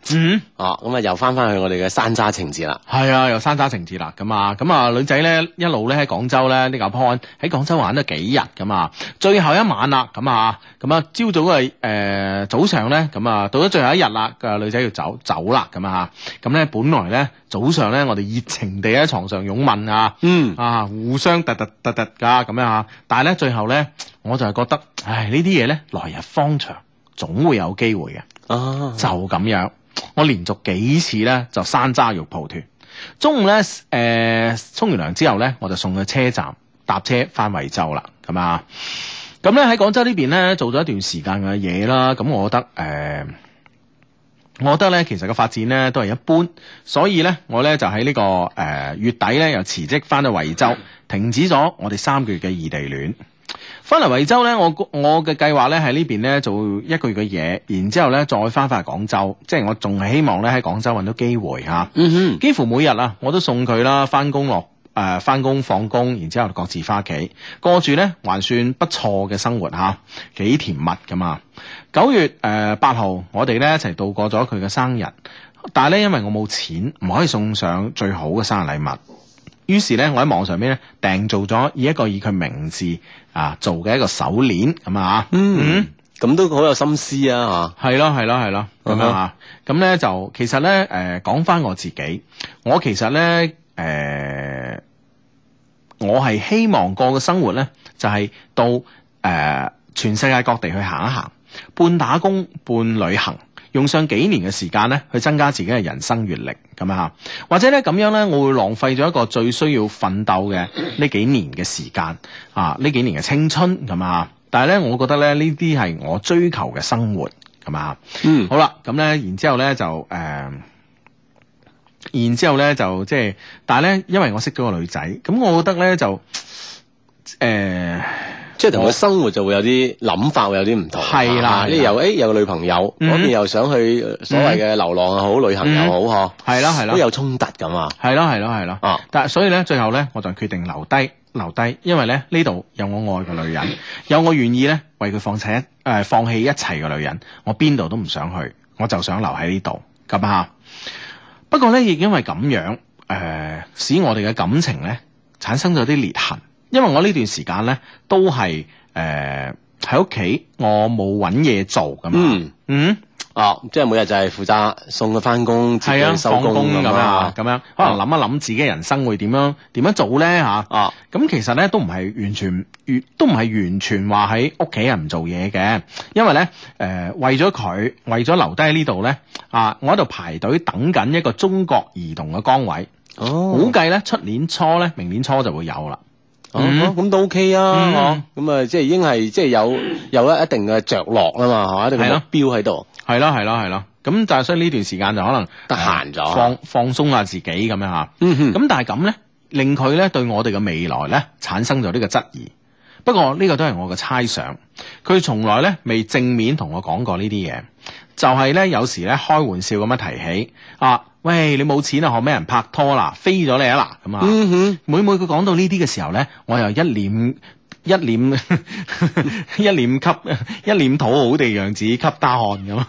嗯， 啊，咁啊又翻翻去我哋嘅山楂情節啦。 係啊，又山楂情節啦，咁啊，咁啊女仔咧一路咧喺廣州咧呢個 point 喺廣州玩咗幾日咁啊，最後一晚啦，咁啊，咁啊朝早嘅誒、呃、早上咧，咁啊到咗最後一日啦，個女仔要走走啦，咁啊，咁咧本來咧早上咧我哋熱情地喺床上擁吻啊， 嗯啊互相突突突突噶咁樣啊，但係咧最後咧我就係覺得，唉呢啲嘢咧來日方長，總會有機會嘅， 啊， 就咁樣。我連續幾次咧就山楂肉蒲團，中午咧誒沖完涼之後咧，我就送去車站搭車翻惠州啦，咁啊，咁咧喺廣州呢邊咧做咗一段時間嘅嘢啦，咁我覺得誒、呃，我覺得咧其實個發展咧都係一般，所以咧我咧就喺呢、這個誒、呃、月底咧又辭職翻到惠州，停止咗我哋三個月嘅異地戀。翻嚟惠州咧，我我嘅計劃咧喺呢邊咧做一個月嘅嘢，然之後咧再翻返去廣州，即係我仲係希望咧喺廣州揾到機會嚇。嗯哼，幾乎每日啊，我都送佢啦，翻工落誒翻工放工，然之後各自翻屋企，過住咧還算不錯嘅生活嚇，幾甜蜜㗎嘛。九月誒八號，我哋咧一齊度過咗佢嘅生日，但係咧因為我冇錢，唔可以送上最好嘅生日禮物。於是咧，我喺網上邊咧訂做咗以一個以佢名字啊做嘅一個手鏈咁啊， 嗯，咁都好有心思啊， 嚇，係咯係咯係咯，咁樣啊，咁咧就其實咧誒講翻我自己，我其實咧誒、呃、我係希望過嘅生活咧就係、是、到誒、呃、全世界各地去行一行，半打工半旅行。用上幾年嘅時間咧，去增加自己嘅人生閱歷咁啊，或者咧咁樣咧，我會浪費咗一個最需要奮鬥嘅呢幾年嘅時間啊，呢幾年嘅青春咁啊，但係咧，我覺得咧呢啲係我追求嘅生活咁啊，嗯，好啦，咁咧，然之後咧就誒、呃，然之後咧就即係，但係咧，因為我識咗個女仔，咁我覺得咧就誒。呃即係同佢生活就會有啲諗法，會有啲唔同。係啦，呢又誒有個女朋友，嗰邊又想去所謂嘅流浪又好，旅行又好，嗬。係啦係啦，都有衝突咁啊。係咯係咯係咯。啊！但係所以咧，最後咧，我就決定留低留低，因為咧呢度有我愛嘅女人，有我願意咧為佢放棄一誒放棄一切嘅女人，我邊度都唔想去，我就想留喺呢度咁啊。不過咧，亦因為咁樣誒，使我哋嘅感情咧產生咗啲裂痕。因為我呢段時間咧都係誒喺屋企，我冇搵嘢做噶嘛。嗯嗯，哦，即係每日就係負責送佢翻工，自己收工咁樣，咁樣可能諗一諗自己人生會點樣點樣做咧吓。啊，咁其實咧都唔係完全，都唔係完全話喺屋企人唔做嘢嘅。因為咧誒、呃、為咗佢，為咗留低喺呢度咧啊，我喺度排隊等緊一個中國移動嘅崗位。哦，估計咧出年初咧，明年初就會有啦。哦，咁都 OK 啊，咁啊，即係已經係即係有有一一定嘅着落啦嘛，係嘛，一定嘅目標喺度。係咯係咯係咯，咁但係所以呢段時間就可能得閒咗，放放鬆下自己咁樣吓。嗯哼，咁但係咁咧，令佢咧對我哋嘅未來咧產生咗呢個質疑。不過呢個都係我嘅猜想，佢從來咧未正面同我講過呢啲嘢，就係咧有時咧開玩笑咁樣提起啊。喂，你冇錢啊？學咩人拍拖啦？飛咗你啊嗱咁啊！嗯哼，每每佢講到呢啲嘅時候咧，我又一臉一臉一臉吸一臉討好地樣子吸大汗咁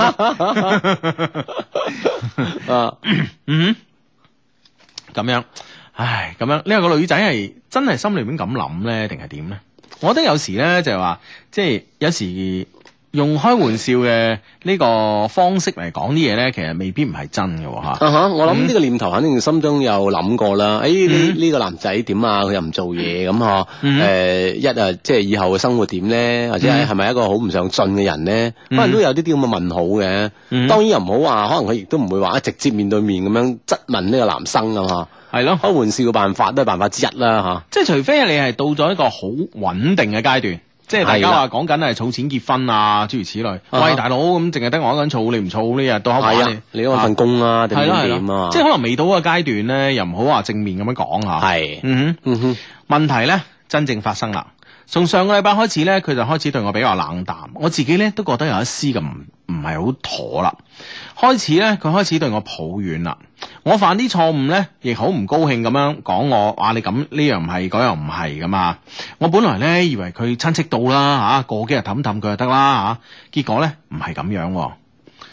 啊！嗯，咁樣，唉，咁樣呢、呢個女仔係真係心裏面咁諗咧，定係點咧？我覺得有時咧就係話，即係有時。用開玩笑嘅呢個方式嚟講啲嘢咧，其實未必唔係真嘅吓。啊哈，我諗呢個念頭肯定心中有諗過啦。誒，呢呢個男仔點啊？佢又唔做嘢咁嗬。誒，一啊，即係以後嘅生活點咧？或者係係咪一個好唔上進嘅人咧？可能都有啲啲咁嘅問號嘅。當然又唔好話，可能佢亦都唔會話直接面對面咁樣質問呢個男生啊嘛。係咯，開玩笑嘅辦法都係辦法之一啦吓。即係除非你係到咗一個好穩定嘅階段。即係大家話講緊係儲錢結婚啊，諸如此類。Uh-huh. 喂，大佬咁淨係得我一個人儲，你唔儲呢日到黑晚你你嗰份工啊，定點點啊？即係可能未到個階段咧，又唔好話正面咁樣講吓。係，嗯哼，嗯哼。問題咧真正發生啦。從上個禮拜開始咧，佢就開始對我比較冷淡。我自己咧都覺得有一絲咁唔唔係好妥啦。開始咧，佢開始對我抱怨啦。我犯啲錯誤咧，亦好唔高興咁樣講我，話你咁呢樣唔係，嗰樣唔係噶嘛。我本來咧以為佢親戚到啦吓，過幾日氹氹佢就得啦吓，結果咧唔係咁樣。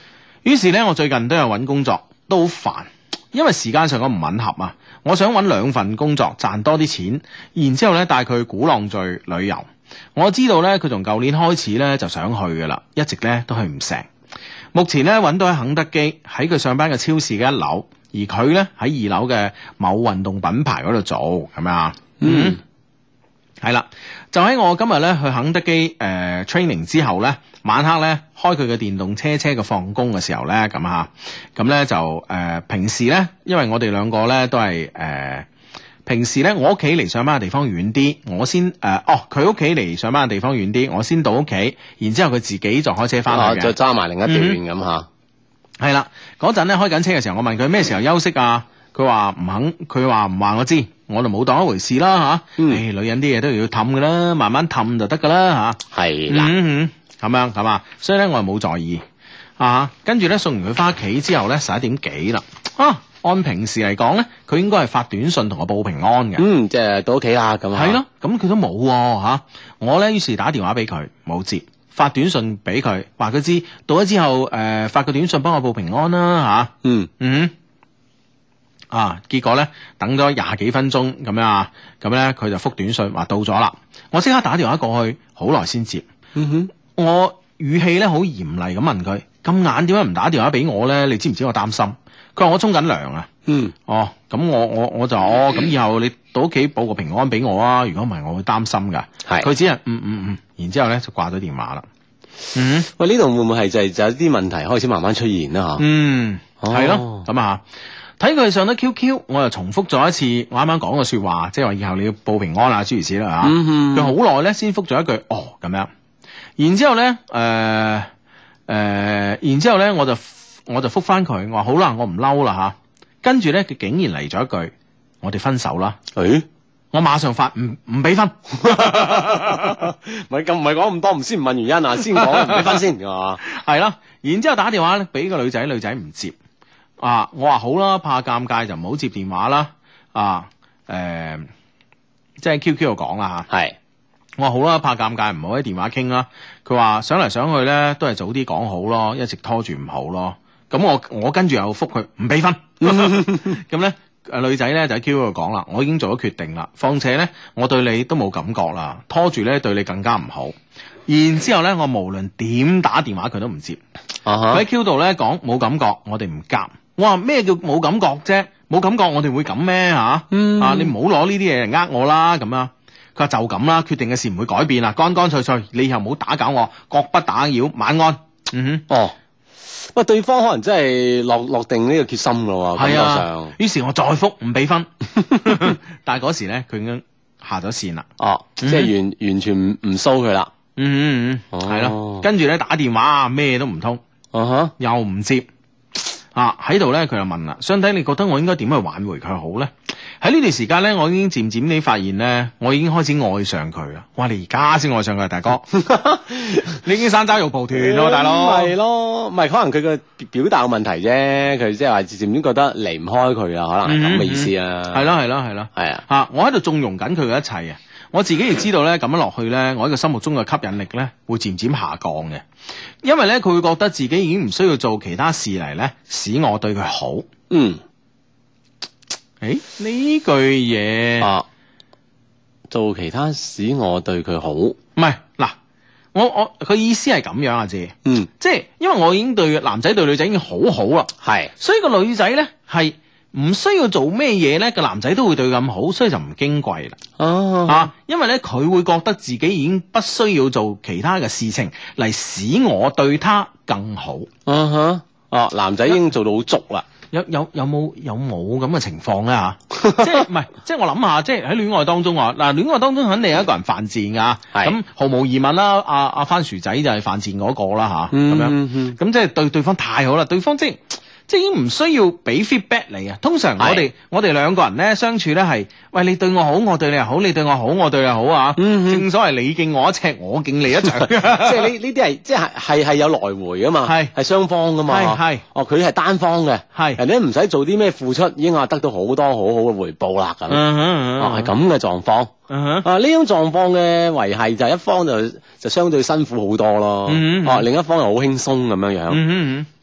於是咧，我最近都有揾工作，都好煩，因為時間上我唔吻合啊。我想揾兩份工作賺多啲錢，然之後咧帶佢去鼓浪嶼旅遊。我知道咧佢從舊年開始咧就想去噶啦，一直咧都去唔成。目前咧揾到喺肯德基喺佢上班嘅超市嘅一樓，而佢咧喺二樓嘅某運動品牌嗰度做，係咪啊？嗯，係啦，就喺我今日咧去肯德基誒、呃、training 之後咧，晚黑咧開佢嘅電動車車嘅放工嘅時候咧，咁啊，咁咧就誒、呃、平時咧，因為我哋兩個咧都係誒。呃平時咧，我屋企離上班嘅地方遠啲，我先誒、呃，哦，佢屋企離上班嘅地方遠啲，我先到屋企，然之後佢自己就開車翻去嘅， 再揸埋另一段咁吓。 係啦、嗯，嗰陣咧開緊車嘅時候，我問佢咩時候休息啊？佢話唔肯，佢話唔話我知，我就冇當一回事啦吓。誒、啊嗯哎，女人啲嘢都要氹噶啦，慢慢氹就得噶啦吓。係啦，嗯咁樣係嘛，所以咧我係冇在意啊。跟住咧送完佢翻屋企之後咧，十一點幾啦啊。按平時嚟講咧，佢應該係發短信同我報平安嘅。 嗯，即係到屋企啦咁啊。 係咯，咁佢都冇吓。我咧於是打電話俾佢，冇接，發短信俾佢，話佢知到咗之後，誒、呃、發個短信幫我報平安啦吓、啊。嗯嗯。啊，結果咧等咗廿幾分鐘咁樣啊，咁咧佢就覆短信話到咗啦。我即刻打電話過去，好耐先接。嗯哼，我語氣咧好嚴厲咁問佢：咁晏點解唔打電話俾我咧？你知唔知我擔心？佢話我沖緊涼啊。嗯。哦，咁我我我就哦，咁以後你到屋企報個平安俾我啊。如果唔係，我會擔心噶。係。佢只係嗯嗯嗯，然之後咧就掛咗電話啦。嗯。 喂，呢度會唔會係就係就有啲問題開始慢慢出現啦？吓。嗯。 係咯。咁啊，睇佢上咗 Q Q，我又重複咗一次我啱啱講嘅說話，即係話以後你要報平安啊，諸如此類啦吓。佢好耐咧先覆咗一句哦咁樣，然之後咧誒誒，然之後咧我就。我就覆翻佢，我話好啦，我唔嬲啦吓。跟住咧，佢竟然嚟咗一句：我哋分手啦。誒、欸，我馬上發唔唔俾分。唔係咁，唔係講咁多，唔先唔問原因啊，先講唔俾分先，係嘛？ 係啦，然之後打電話咧俾個女仔，女仔唔接。啊，我話好啦，怕尷尬就唔好接電話啦。啊，誒、呃，即係 Q Q 度講啦吓。係是，我話好啦，怕尷尬唔好喺電話傾啦。佢話想嚟想去咧，都係早啲講好咯，一直拖住唔好咯。咁我我跟住又覆佢唔俾分，咁咧誒女仔咧就喺 Q Q 度講啦，我已經做咗決定啦，況且咧我對你都冇感覺啦，拖住咧對你更加唔好。然之後咧我無論點打電話佢都唔接，佢喺、uh huh. Q 度咧講冇感覺，我哋唔夾。我話咩叫冇感覺啫？冇感覺我哋會咁咩吓？嗯、啊你唔好攞呢啲嘢嚟呃我啦咁啊！佢話就咁啦，決定嘅事唔會改變啦，乾乾脆脆，你以後唔好打攪我，各不打擾，晚安。嗯哼，哦。 喂，對方可能真係落落定呢個決心咯喎，感覺上。於是我再覆唔俾分，但係嗰時咧佢已經下咗線啦。 哦，嗯、即係完完全唔唔騷佢啦。 嗯嗯嗯，係咯、哦。跟住咧打電話啊，咩都唔通。啊哈，又唔接。啊喺度咧，佢就問啦，相弟你覺得我應該點去挽回佢好咧？喺呢段時間咧，我已經漸漸地發現咧，我已經開始愛上佢啦。哇！你而家先愛上佢，大哥，你已經山楂肉蒲團咯，大佬。 係咯，唔係可能佢嘅表達嘅問題啫，佢即係話漸漸覺得離唔開佢啊，可能係咁嘅意思啊。係咯係咯係咯，係啊。 吓，我喺度縱容緊佢嘅一切啊！我自己亦知道咧，咁樣落去咧，我喺佢心目中嘅吸引力咧，會漸漸下降嘅。因為咧，佢會覺得自己已經唔需要做其他事嚟咧，使我對佢好。嗯。誒，呢句嘢啊， 做其他使我對佢好， 唔係嗱，我我佢意思係咁樣啊，姐，嗯，即係因為我已經對男仔對女仔已經好好啦，係是，所以個女仔咧係唔需要做咩嘢咧，個男仔都會對佢咁好，所以就唔矜貴啦，哦，啊，因為咧佢會覺得自己已經不需要做其他嘅事情嚟使我對他更好， 嗯哼，哦，男仔已經做到好足啦。 有有有冇有冇咁嘅情況咧吓？即係唔係？即係我諗下，即係喺戀愛當中啊！嗱，戀愛當中肯定有一個人犯賤噶，咁是毫無疑問啦。阿、啊、阿番薯仔就係犯賤嗰個啦吓，咁、啊嗯、樣咁即係對對方太好啦，對方即係即係已經唔需要俾 feedback 你啊。通常我哋是我哋兩個人咧相處咧係，喂，你對我好，我對你又好，你對我好，我對你又好啊。嗯、正所謂你敬我一尺，我敬你一丈。即係呢呢啲係即係係係有來回噶嘛，係係雙方噶嘛。係係哦，佢係單方嘅，係人哋唔使做啲咩付出，已經話得到好多好好嘅回報啦咁。哦，係咁嘅狀況。啊呢種狀況嘅維繫就一方就就相對辛苦好多咯。哦，另一方又好輕鬆咁樣樣。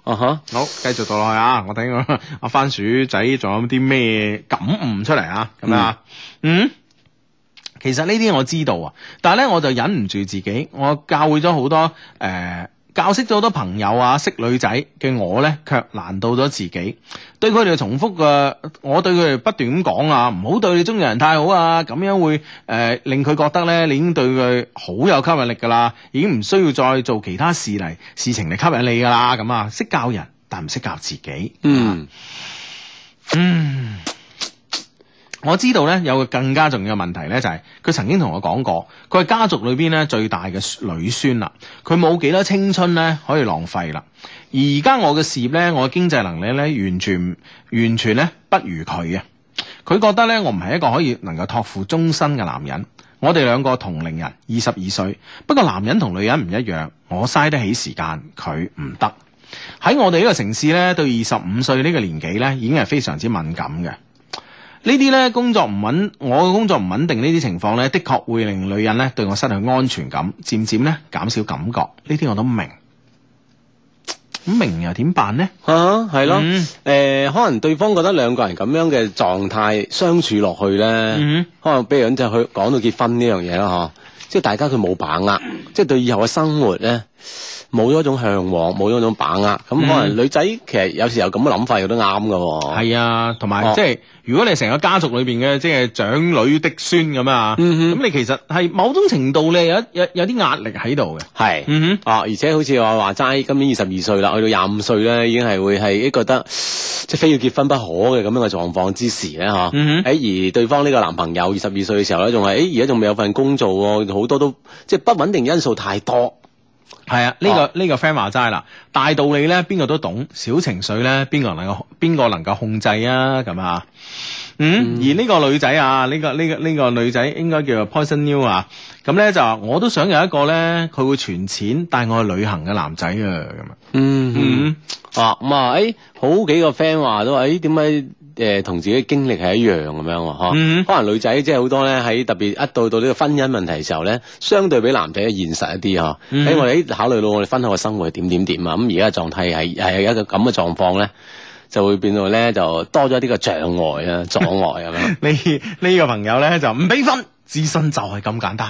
啊哈， 好，繼續到落去啊！我睇我阿番薯仔仲有啲咩感悟出嚟啊？咁啊，嗯。其實呢啲我知道啊，但係咧我就忍唔住自己，我教會咗好多誒、呃，教識咗好多朋友啊，識女仔嘅我咧，卻難到咗自己。對佢哋重複嘅，我對佢哋不斷咁講啊，唔好對你中意人太好啊，咁樣會誒、呃、令佢覺得咧，你已經對佢好有吸引力噶啦，已經唔需要再做其他事嚟事情嚟吸引你噶啦，咁啊，識教人但唔識教自己。 嗯嗯。我知道咧有個更加重要嘅問題咧，就係、是、佢曾經同我講過，佢係家族裏邊咧最大嘅女孫啦，佢冇幾多青春咧可以浪費啦。而家我嘅事業咧，我嘅經濟能力咧，完全完全咧不如佢啊。佢覺得咧我唔係一個可以能夠託付終身嘅男人。我哋兩個同齡人，二十二歲，不過男人同女人唔一樣，我嘥得起時間，佢唔得。喺我哋呢個城市咧，對二十五歲呢個年紀咧，已經係非常之敏感嘅。呢啲咧工作唔穩，我嘅工作唔穩定呢啲情況咧，的確會令女人咧對我失去安全感，漸漸咧減少感覺。呢啲我都明，咁明又點辦呢？ 嚇係咯，誒、呃、可能對方覺得兩個人咁樣嘅狀態相處落去咧，嗯、可能比如咁就去講到結婚呢樣嘢啦，嗬，即係大家佢冇把握，即係對以後嘅生活咧。冇咗一種向往，冇咗一種把握，咁、嗯、可能女仔其實有時候咁嘅諗法亦都啱噶。 係啊，同埋、哦、即係如果你成個家族裏邊嘅即係長女的孫咁啊，咁、嗯、哼你其實係某種程度你有有有啲壓力喺度嘅。係是，嗯哼，啊，而且好似話話齋，今年二十二歲啦，去到廿五歲咧，已經係會係覺得即係非要結婚不可嘅咁樣嘅狀況之時咧，嚇、嗯哼，誒而對方呢個男朋友二十二歲嘅時候咧，仲係誒而家仲未有份工做喎，好多都即係不穩定因素太多。係啊，呢、這個呢、哦、個 friend 話齋啦，大道理咧邊個都懂，小情緒咧邊個能夠邊個能夠控制啊？咁啊，嗯，嗯而呢個女仔啊，呢、這個呢、這個呢、這個女仔應該叫做 Poison New 啊，咁咧就話我都想有一個咧，佢會存錢帶我去旅行嘅男仔啊，咁啊，嗯嗯，啊咁啊，誒好幾個 friend 話都話，誒點解？誒同、呃、自己經歷係一樣咁樣喎，嗬、嗯，可能女仔即係好多咧喺特別一到到呢個婚姻問題嘅時候咧，相對比男仔現實一啲嗬，喺、嗯、我哋考慮到我哋婚後嘅生活係點點點啊，咁而家嘅狀態係係一個咁嘅狀況咧，就會變到咧就多咗啲嘅障礙啊阻礙咁樣。呢呢個朋友咧就唔俾分，自信就係咁簡單。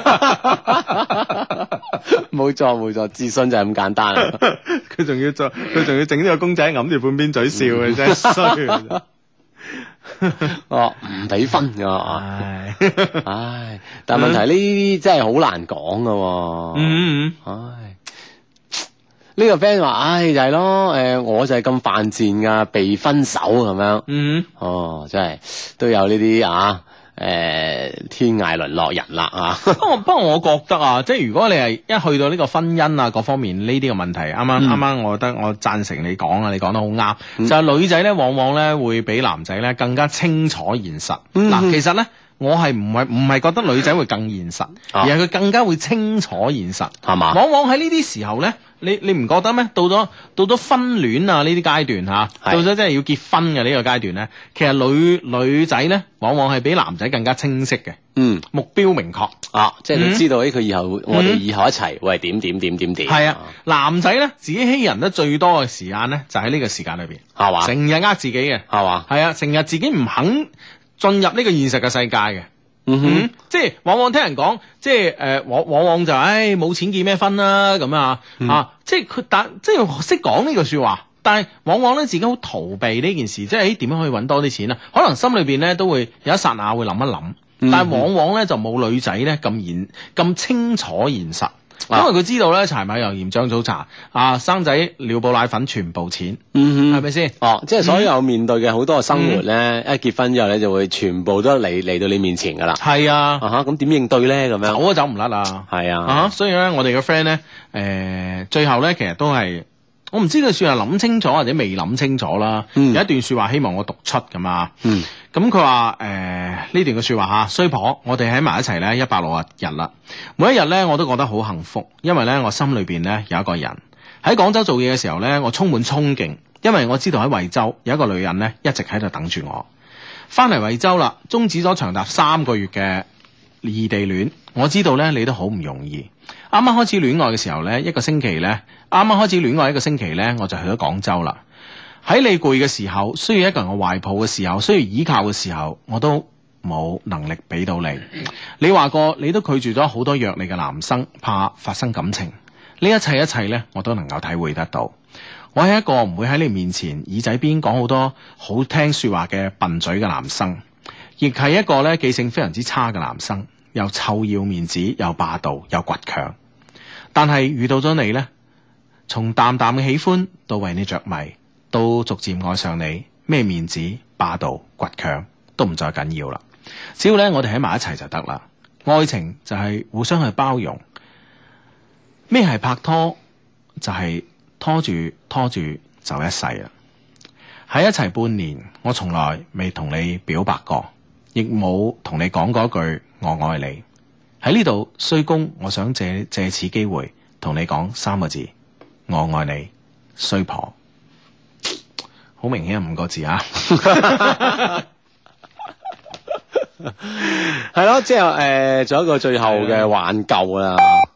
冇錯冇錯，自信就係咁簡單。佢仲要做，佢仲要整呢個公仔揞住半邊嘴笑嘅真係衰。哦，唔俾分㗎，唉，唉，但係問題呢啲真係好難講㗎，嗯，唉，呢個 friend 話，唉，就係咯，誒，我就係咁犯賤㗎，被分手咁樣，嗯，哦，真係都有呢啲啊。誒、呃，天涯淪落人啦啊！不過不過，我覺得啊，即係如果你係一去到呢個婚姻啊各方面呢啲嘅問題，啱啱啱啱，我覺得我贊成你講啊，你講得好啱。嗯、就係女仔咧，往往咧會比男仔咧更加清楚現實。嗱、嗯哼，其實咧。我係唔係唔係覺得女仔會更現實，啊、而係佢更加會清楚現實，係嘛吧？往往喺呢啲時候咧，你你唔覺得咩？到咗到咗婚戀啊呢啲階段吓，是到咗真係要結婚嘅呢個階段咧，其實女女仔咧，往往係比男仔更加清晰嘅，嗯，目標明確啊，即係你知道，誒，佢以後、嗯、我哋以後一齊會係點點點點點。係啊，男仔咧自己欺人得最多嘅時間咧，就喺呢個時間裏邊，係嘛吧？成日呃自己嘅，係嘛吧？係啊，成日自己唔肯進入呢個現實嘅世界嘅，嗯哼，嗯即係往往聽人講，即係誒，往往往就誒冇錢結咩婚啦咁啊，嗯、啊，即係佢但即係識講呢句說話，但係往往咧自己好逃避呢件事，即係誒點樣可以搵多啲錢啊？可能心裏邊咧都會有一剎那會諗一諗，嗯、哼但係往往咧就冇女仔咧咁現咁清楚現實。因為佢知道咧，柴米油鹽醬醋茶啊，生仔尿布奶粉全部錢，嗯哼，係咪先？哦，即係所有面對嘅好多嘅生活咧，嗯、一結婚之後咧就會全部都嚟嚟到你面前噶啦。係啊，啊哈，咁點應對咧？咁樣走都走唔甩啊！係啊，啊，所以咧，我哋嘅 friend 咧，誒、呃，最後咧，其實都係。我唔知佢算係諗清楚或者未諗清楚啦。嗯、有一段說話希望我讀出咁啊。咁佢話誒呢段嘅說話吓，衰婆，我哋喺埋一齊咧一百六十日啦。每一日咧我都覺得好幸福，因為咧我心裏邊咧有一個人喺廣州做嘢嘅時候咧，我充滿憧憬，因為我知道喺惠州有一個女人咧一直喺度等住我。翻嚟惠州啦，終止咗長達三個月嘅異地戀，我知道咧你都好唔容易。啱啱開始戀愛嘅時候咧，一個星期咧，啱啱開始戀愛一個星期咧，我就去咗廣州啦。喺你攰嘅時候，需要一個人嘅懷抱嘅時候，需要依靠嘅時候，我都冇能力俾到你。你話過你都拒絕咗好多約你嘅男生，怕發生感情。呢一切一切咧，我都能夠體會得到。我係一個唔會喺你面前耳仔邊講好多好聽說話嘅笨嘴嘅男生，亦係一個咧記性非常之差嘅男生，又臭要面子，又霸道，又倔強。但係遇到咗你咧，從淡淡嘅喜歡到為你着迷，到逐漸愛上你，咩面子、霸道、倔強都唔再緊要啦。只要咧我哋喺埋一齊就得啦。愛情就係互相去包容。咩係拍拖？就係、是、拖住拖住就一世啦。喺一齊半年，我從來未同你表白過，亦冇同你講過一句我愛你。喺呢度衰公，我想借借此機會同你講三個字：我愛你，衰婆。好明顯係五個字啊！ 係咯，即係誒，做一個最後嘅挽救啦。